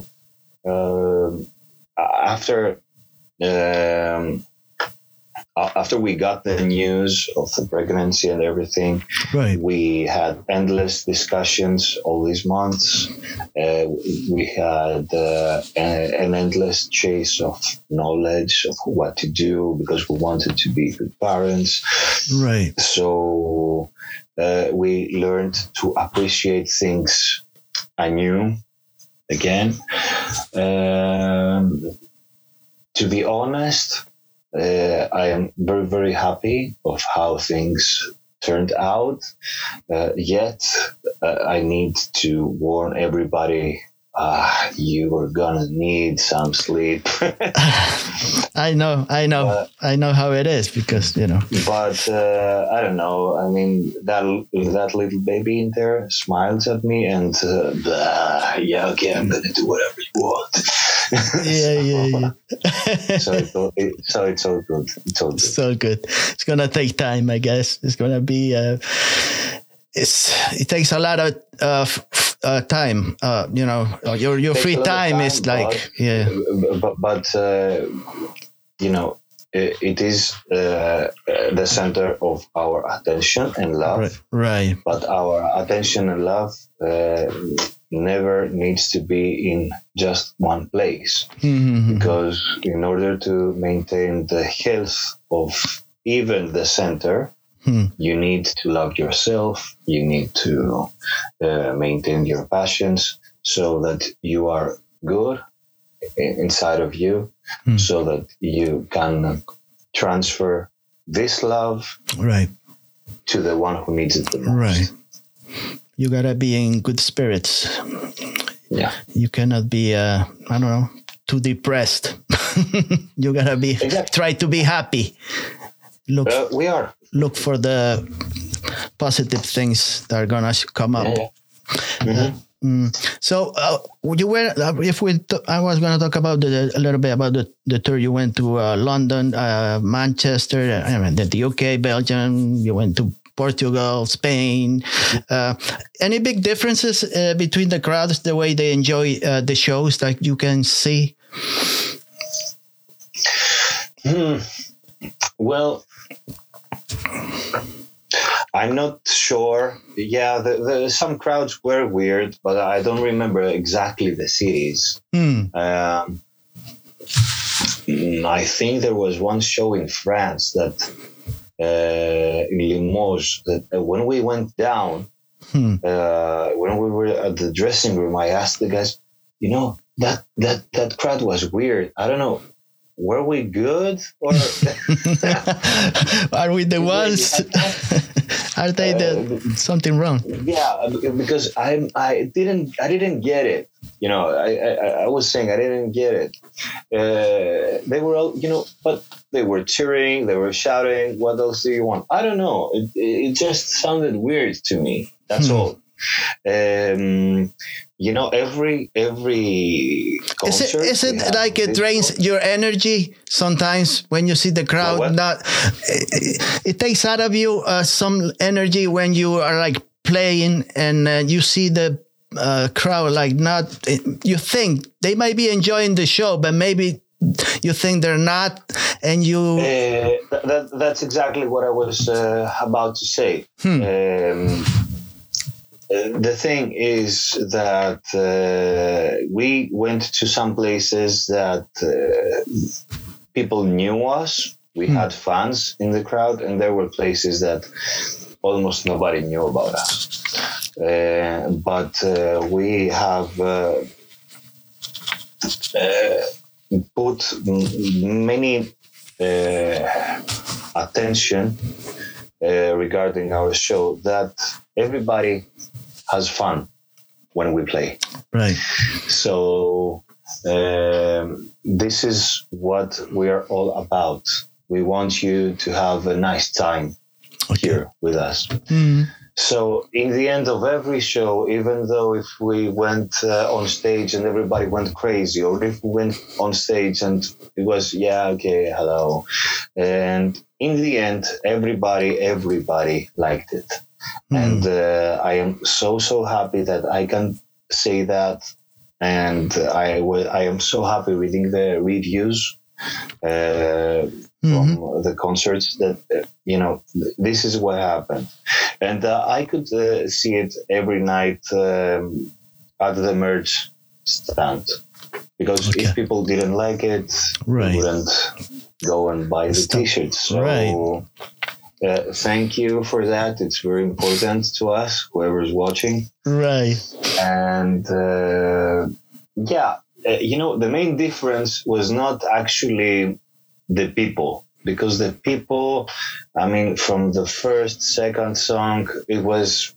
after we got the news of the pregnancy and everything, right, we had endless discussions all these months. We had an endless chase of knowledge of what to do, because we wanted to be good parents. Right. So we learned to appreciate things anew again. To be honest, I am very, very happy of how things turned out. Yet, I need to warn everybody. You are gonna need some sleep. I know how it is because But I don't know. I mean, that little baby in there smiles at me and yeah, okay, I'm gonna do whatever you want. Yeah. So it's all good. It's all good. So good. It's gonna take time, I guess. It's gonna be. It takes a lot of time. Your free time is like But it is the center of our attention and love. Right. But our attention and love never needs to be in just one place. Mm-hmm. Because in order to maintain the health of even the center, you need to love yourself. You need to maintain your passions so that you are good inside of you, so that you can transfer this love to the one who needs it the most. Right. You gotta be in good spirits. Yeah. You cannot be, too depressed. You gotta be, try to be happy. We are. Look for the positive things that are gonna come up. Yeah. Mm-hmm. So you were. I was gonna talk about a little bit about the tour. You went to London, Manchester, the UK, Belgium. You went to Portugal, Spain. Any big differences between the crowds, the way they enjoy the shows that you can see? Well, I'm not sure. Yeah, some crowds were weird, but I don't remember exactly the cities. I think there was one show in France that in Limoges that when we went down, when we were at the dressing room, I asked the guys, that crowd was weird. I don't know. Were we good or are we the ones? Are they something wrong? Yeah, because I didn't get it. I was saying I didn't get it. They were all, but they were cheering, they were shouting. What else do you want? I don't know. It just sounded weird to me. That's all. Every concert. Is it like it drains your energy sometimes when you see the crowd? It takes out of you some energy when you are like playing and you see the crowd like not. You think they might be enjoying the show, but maybe you think they're not, and you. That's exactly what I was about to say. The thing is that we went to some places that people knew us. We had fans in the crowd, and there were places that almost nobody knew about us. But we have put many attention regarding our show that everybody has fun when we play. Right. So this is what we are all about. We want you to have a nice time here with us. So in the end of every show, even though if we went on stage and everybody went crazy, or if we went on stage and it was, hello. And in the end, everybody liked it. And I am so happy that I can say that. And I am so happy reading the reviews from the concerts that, this is what happened. And I could see it every night at the merch stand. Because if people didn't like it, they wouldn't go and buy the T-shirts. So thank you for that. It's very important to us, whoever's watching. Right. And the main difference was not actually the people. because the people, I mean, from the first, second song, it was,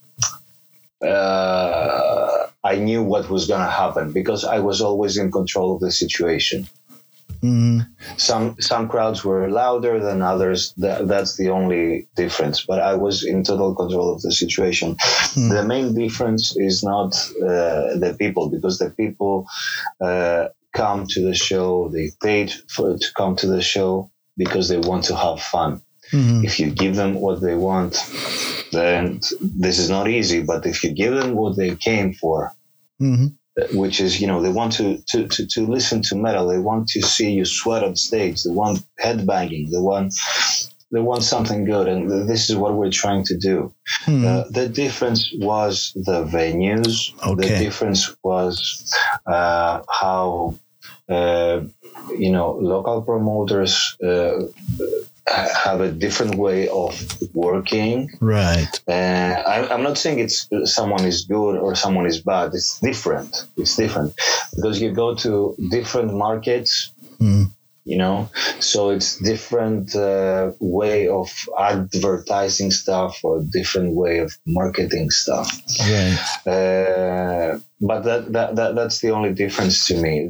I knew what was going to happen because I was always in control of the situation. Mm-hmm. Some crowds were louder than others. That's the only difference. But I was in total control of the situation. Mm-hmm. The main difference is not the people, because the people come to the show. They paid to come to the show because they want to have fun. Mm-hmm. If you give them what they want, then this is not easy. But if you give them what they came for, mm-hmm. which is, they want to listen to metal, they want to see you sweat on stage, they want headbanging, they want something good, and this is what we're trying to do. Mm-hmm. The difference was the venues. Okay. The difference was how local promoters have a different way of working. Right. I'm not saying someone is good or someone is bad. It's different. Because you go to different markets, so it's different way of advertising stuff or different way of marketing stuff. Right. But that's the only difference to me.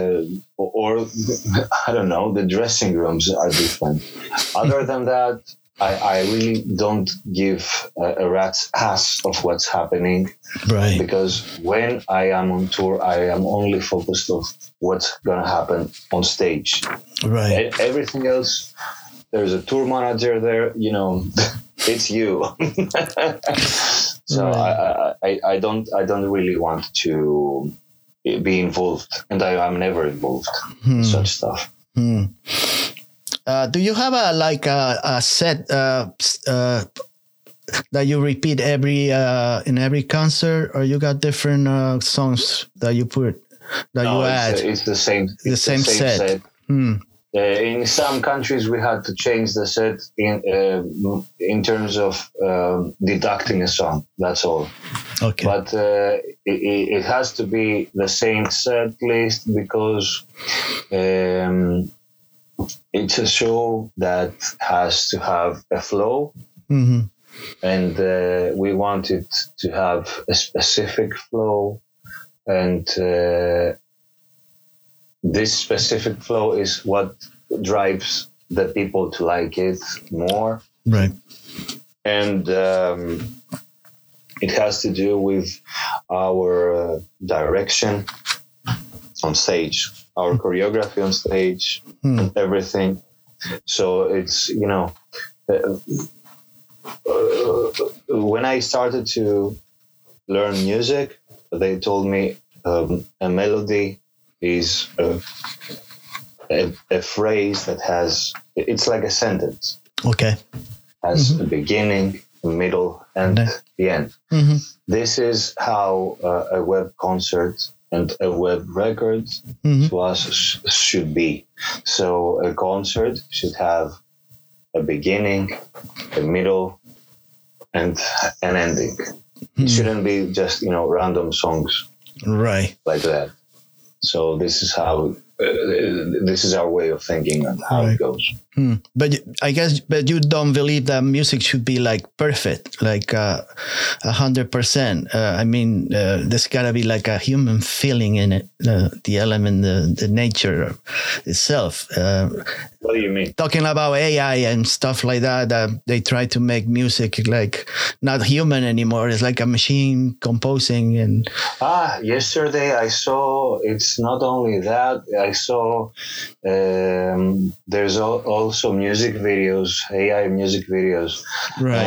I don't know, the dressing rooms are different. Other than that, I really don't give a rat's ass of what's happening. Right. Because when I am on tour, I am only focused on what's going to happen on stage. Right. Everything else, there's a tour manager there, it's you. So right. I don't really want to be involved, and I'm never involved in such stuff. Do you have a set that you repeat in every concert, or you got different songs that you put you add? It's the same. The same set. In some countries, we had to change the set in terms of deducting a song. That's all. Okay. But it has to be the same set list because it's a show that has to have a flow. Mm-hmm. And we wanted to have a specific flow, and this specific flow is what drives the people to like it more. Right. And it has to do with our direction on stage, our choreography on stage, and everything. So it's, when I started to learn music, they told me a melody is a phrase that it's like a sentence. Okay. Has a beginning, a middle, and the end. Mm-hmm. This is how a web concert and a web record to us should be. So a concert should have a beginning, a middle, and an ending. It shouldn't be just, random songs. Right. Like that. So this is how this is our way of thinking and how it goes. But I guess, you don't believe that music should be like perfect, like 100%. I mean, there's gotta be like a human feeling in it, the element, the nature itself. What do you mean? Talking about AI and stuff like that, they try to make music like not human anymore. It's like a machine composing. And yesterday I saw, it's not only that, I saw there's also music videos, AI music videos. Right.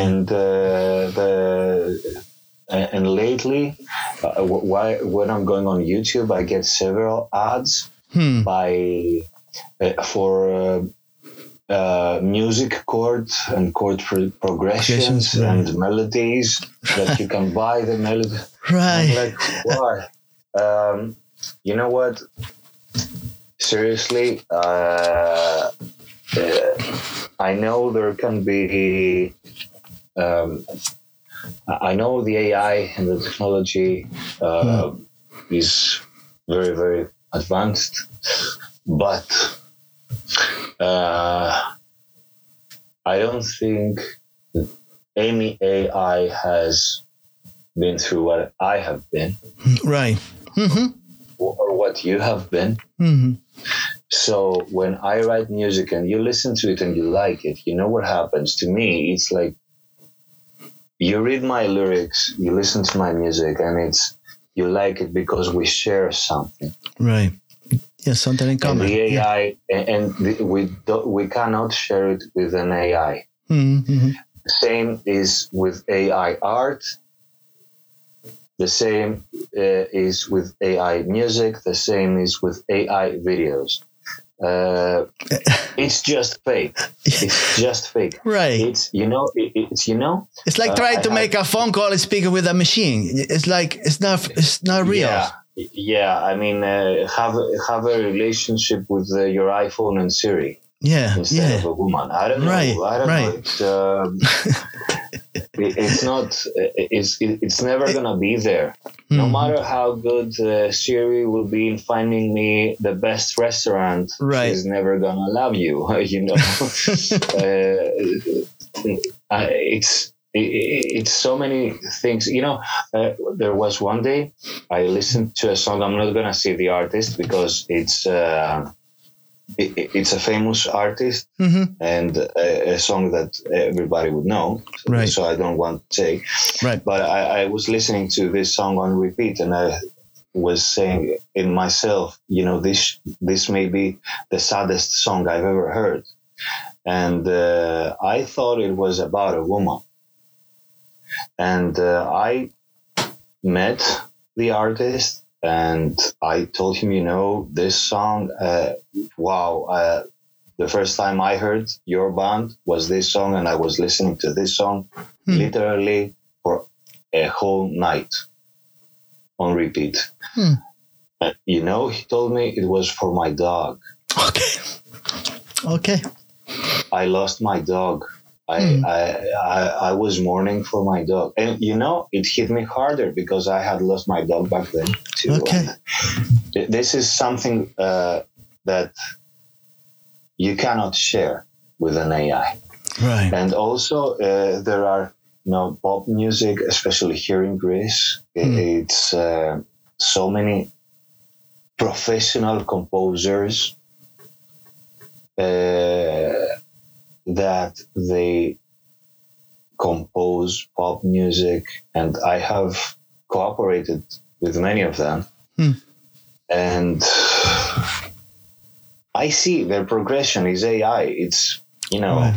And lately, when I'm going on YouTube, I get several ads for music chords and chord progressions and melodies that you can buy the melody. Right. I'm like, why? You know what? Seriously, I know there can be. I know the AI and the technology is very, very advanced, but I don't think any AI has been through what I have been. Right. Mm-hmm. Or what you have been. Mm-hmm. So when I write music and you listen to it and you like it, you know what happens to me? It's like you read my lyrics, you listen to my music, and you like it because we share something. Right. Yes, something in common. And the AI, we cannot share it with an AI. Mm-hmm. Same is with AI art. The same is with AI music. The same is with AI videos. It's just fake. It's just fake. Right. It's It's like trying to make a phone call and speak with a machine. It's like it's not real. Yeah. I mean, have a relationship with your iPhone and Siri. Yeah. Instead of a woman. I don't know. I don't know. It's not. It's never gonna be there. Mm-hmm. No matter how good Siri will be in finding me the best restaurant, she's never gonna love you. You know. It's so many things. You know, there was one day I listened to a song. I'm not gonna say the artist because it's a famous artist, mm-hmm. and a song that everybody would know. Right. So I don't want to say. Right. But I was listening to this song on repeat, and I was saying in myself, you know, this may be the saddest song I've ever heard. And I thought it was about a woman. And I met the artist, and I told him, you know, this song, the first time I heard your band was this song, and I was listening to this song literally for a whole night on repeat. You know, he told me it was for my dog. Okay. I lost my dog. I was mourning for my dog, and you know, it hit me harder because I had lost my dog back then too. Okay. This is something that you cannot share with an AI. Right. And also there are, you know, pop music, especially here in Greece. It's so many professional composers that they compose pop music, and I have cooperated with many of them. And I see their progression is AI. It's, you know,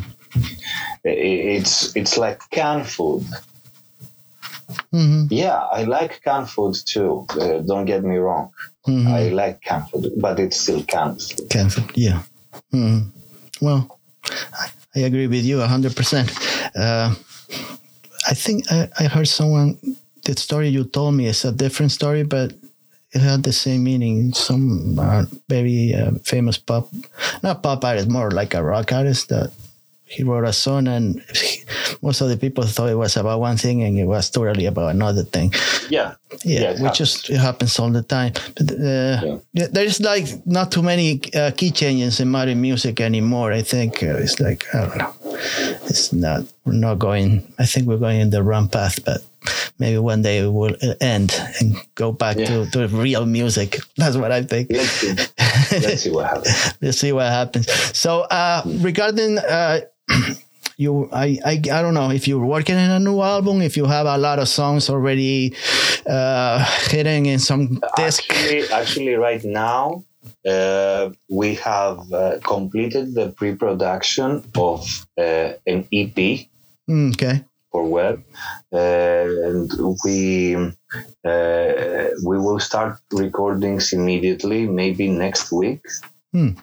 it's like canned food. Mm-hmm. Yeah, I like canned food too. Don't get me wrong. Mm-hmm. I like canned food, but it's still canned food. Canned food, yeah. Mm-hmm. Well, I agree with you 100%. I think I heard someone, the story you told me is a different story, but it had the same meaning. Some very famous not pop artist, more like a rock artist, that he wrote a song, and most of the people thought it was about one thing and it was totally about another thing. Yeah, it happens all the time. But there's like not too many key changes in modern music anymore. I think it's like, I don't know. We're not going, I think we're going in the wrong path, but maybe one day it will end and go back to real music. That's what I think. Let's see what happens. Let's see what happens. So regarding you, I don't know if you're working in a new album, if you have a lot of songs already hitting in some disc. Actually, right now, we have completed the pre-production of an EP. Okay. For web, and we will start recordings immediately, maybe next week. And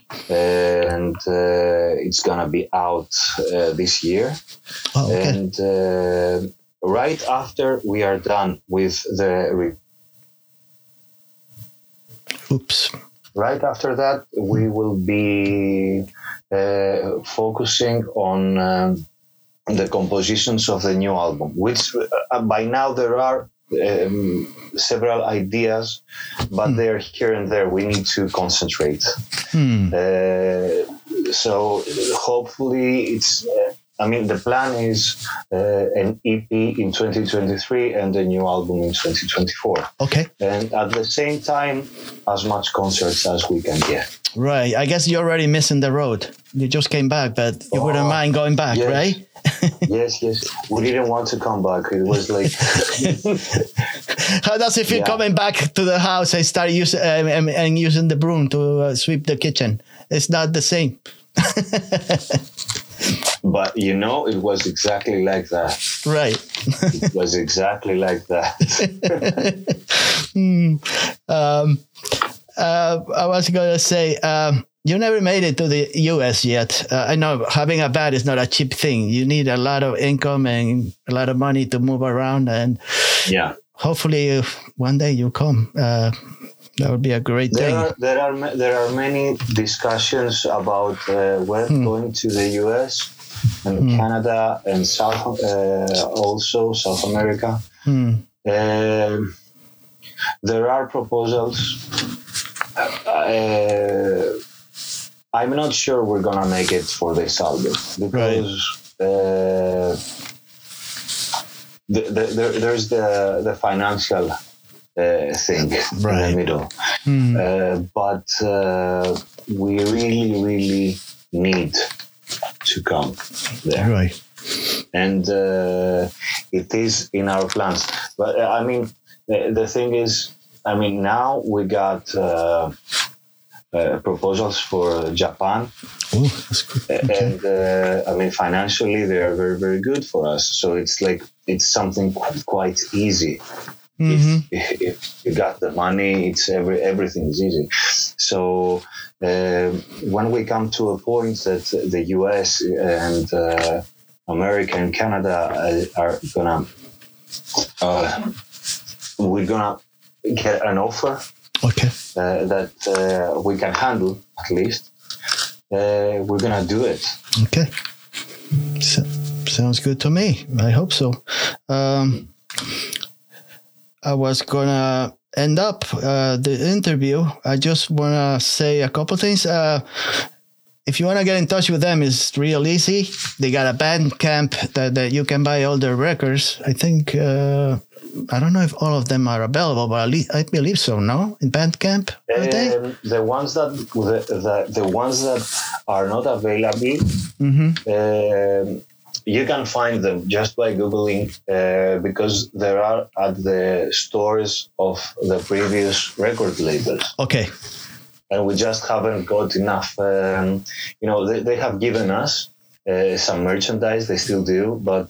it's gonna be out this year. Oh, okay. And right after we are done with the right after that, we will be focusing on the compositions of the new album, which by now there are several ideas, but they're here and there. We need to concentrate. So hopefully I mean, the plan is an EP in 2023 and a new album in 2024. Okay. And at the same time, as much concerts as we can get. Right. I guess you're already missing the road. You just came back, but you wouldn't mind going back, yes. right? Yes. We didn't want to come back. It was like... How does it feel coming back to the house and start using the broom to sweep the kitchen? It's not the same. But, it was exactly like that. Right. It was exactly like that. I was going to say, you never made it to the U.S. yet. I know having a band is not a cheap thing. You need a lot of income and a lot of money to move around. And hopefully one day you come. That would be a great thing. There are many discussions about going to the U.S. and Canada and also South America. There are proposals. I'm not sure we're gonna make it for this album because there's the financial thing in the middle. But we really need to come there. Right. And it is in our plans. But I mean, the thing is, now we got proposals for Japan. Oh, that's good. Okay. And financially, they are very, very good for us. So it's something quite easy. If you got the money, everything is easy. So when we come to a point that the US and America and Canada are gonna, we're gonna get an offer. Okay. That we can handle at least. We're gonna do it. Okay. Sounds good to me. I hope so. I was gonna end up the interview. I just wanna say a couple things. If you want to get in touch with them, it's real easy. They got a Bandcamp that you can buy all their records. I think, I don't know if all of them are available, but I believe so, no? In Bandcamp, are they? The ones that are not available, you can find them just by Googling, because there are at the stores of the previous record labels. Okay. And we just haven't got enough. They have given us some merchandise. They still do, but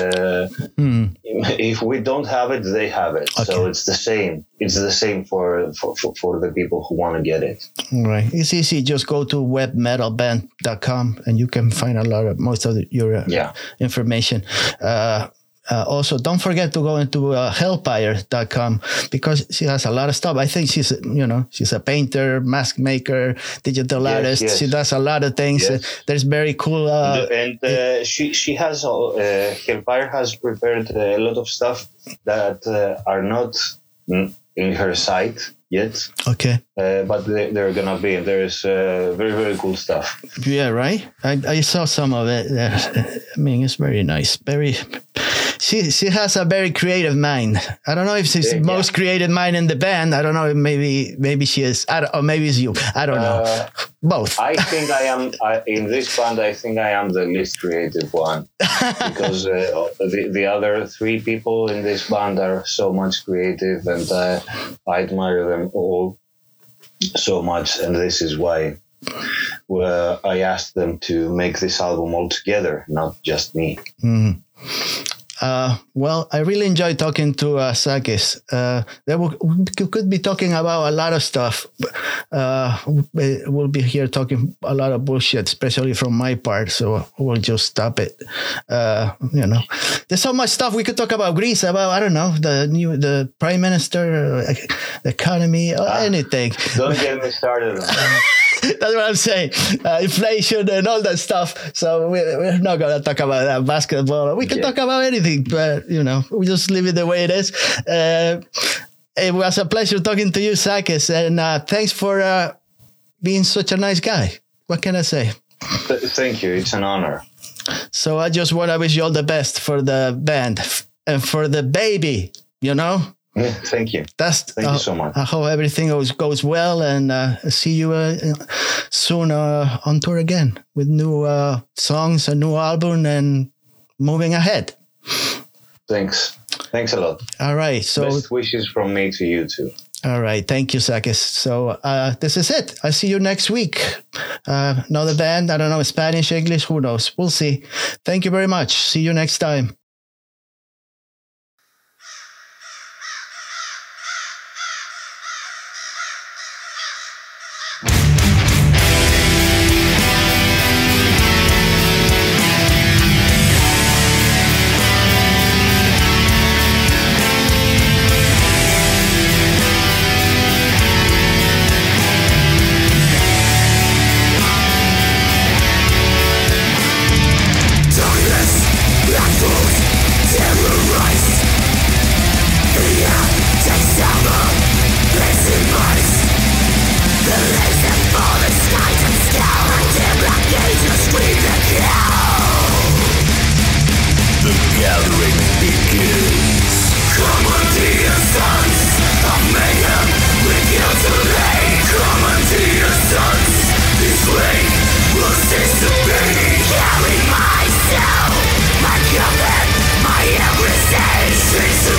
if we don't have it, they have it. Okay. So it's the same. It's the same for the people who want to get it. Right. It's easy. Just go to webmetalband.com and you can find most of your information. Also, don't forget to go into hellpire.com because she has a lot of stuff. I think she's a painter, mask maker, digital artist. Yes. She does a lot of things. Yes. There's very cool. She has, Hellpire has prepared a lot of stuff that are not in her site yet. Okay. But they're going to be. There's very, very cool stuff. Yeah, right? I saw some of it. It's very nice. She has a very creative mind. I don't know if she's the most creative mind in the band. I don't know. Maybe she is. Or maybe it's you. I don't know. Both. I think I am in this band. I think I am the least creative one because the other three people in this band are so much creative, and I admire them all so much. And this is why I asked them to make this album all together, not just me. Mm. Well, I really enjoyed talking to Sakis. We could be talking about a lot of stuff. We'll be here talking a lot of bullshit, especially from my part. So we'll just stop it. There's so much stuff we could talk about. Greece, about the prime minister, the economy, anything. Don't get me started. That's what I'm saying. Inflation and all that stuff. So we're not going to talk about that basketball. We can talk about anything, but, we just leave it the way it is. It was a pleasure talking to you, Sakis. And thanks for being such a nice guy. What can I say? Thank you. It's an honor. So I just want to wish you all the best for the band and for the baby, you know? Yeah, thank you. Thank you so much. I hope everything goes well, and see you soon on tour again with new songs, a new album, and moving ahead. Thanks a lot. All right. So best wishes from me to you too. All right. Thank you, Sakis. So this is it. I'll see you next week. Another band. I don't know, Spanish, English, who knows? We'll see. Thank you very much. See you next time. Carry myself, my covenant, my every stage.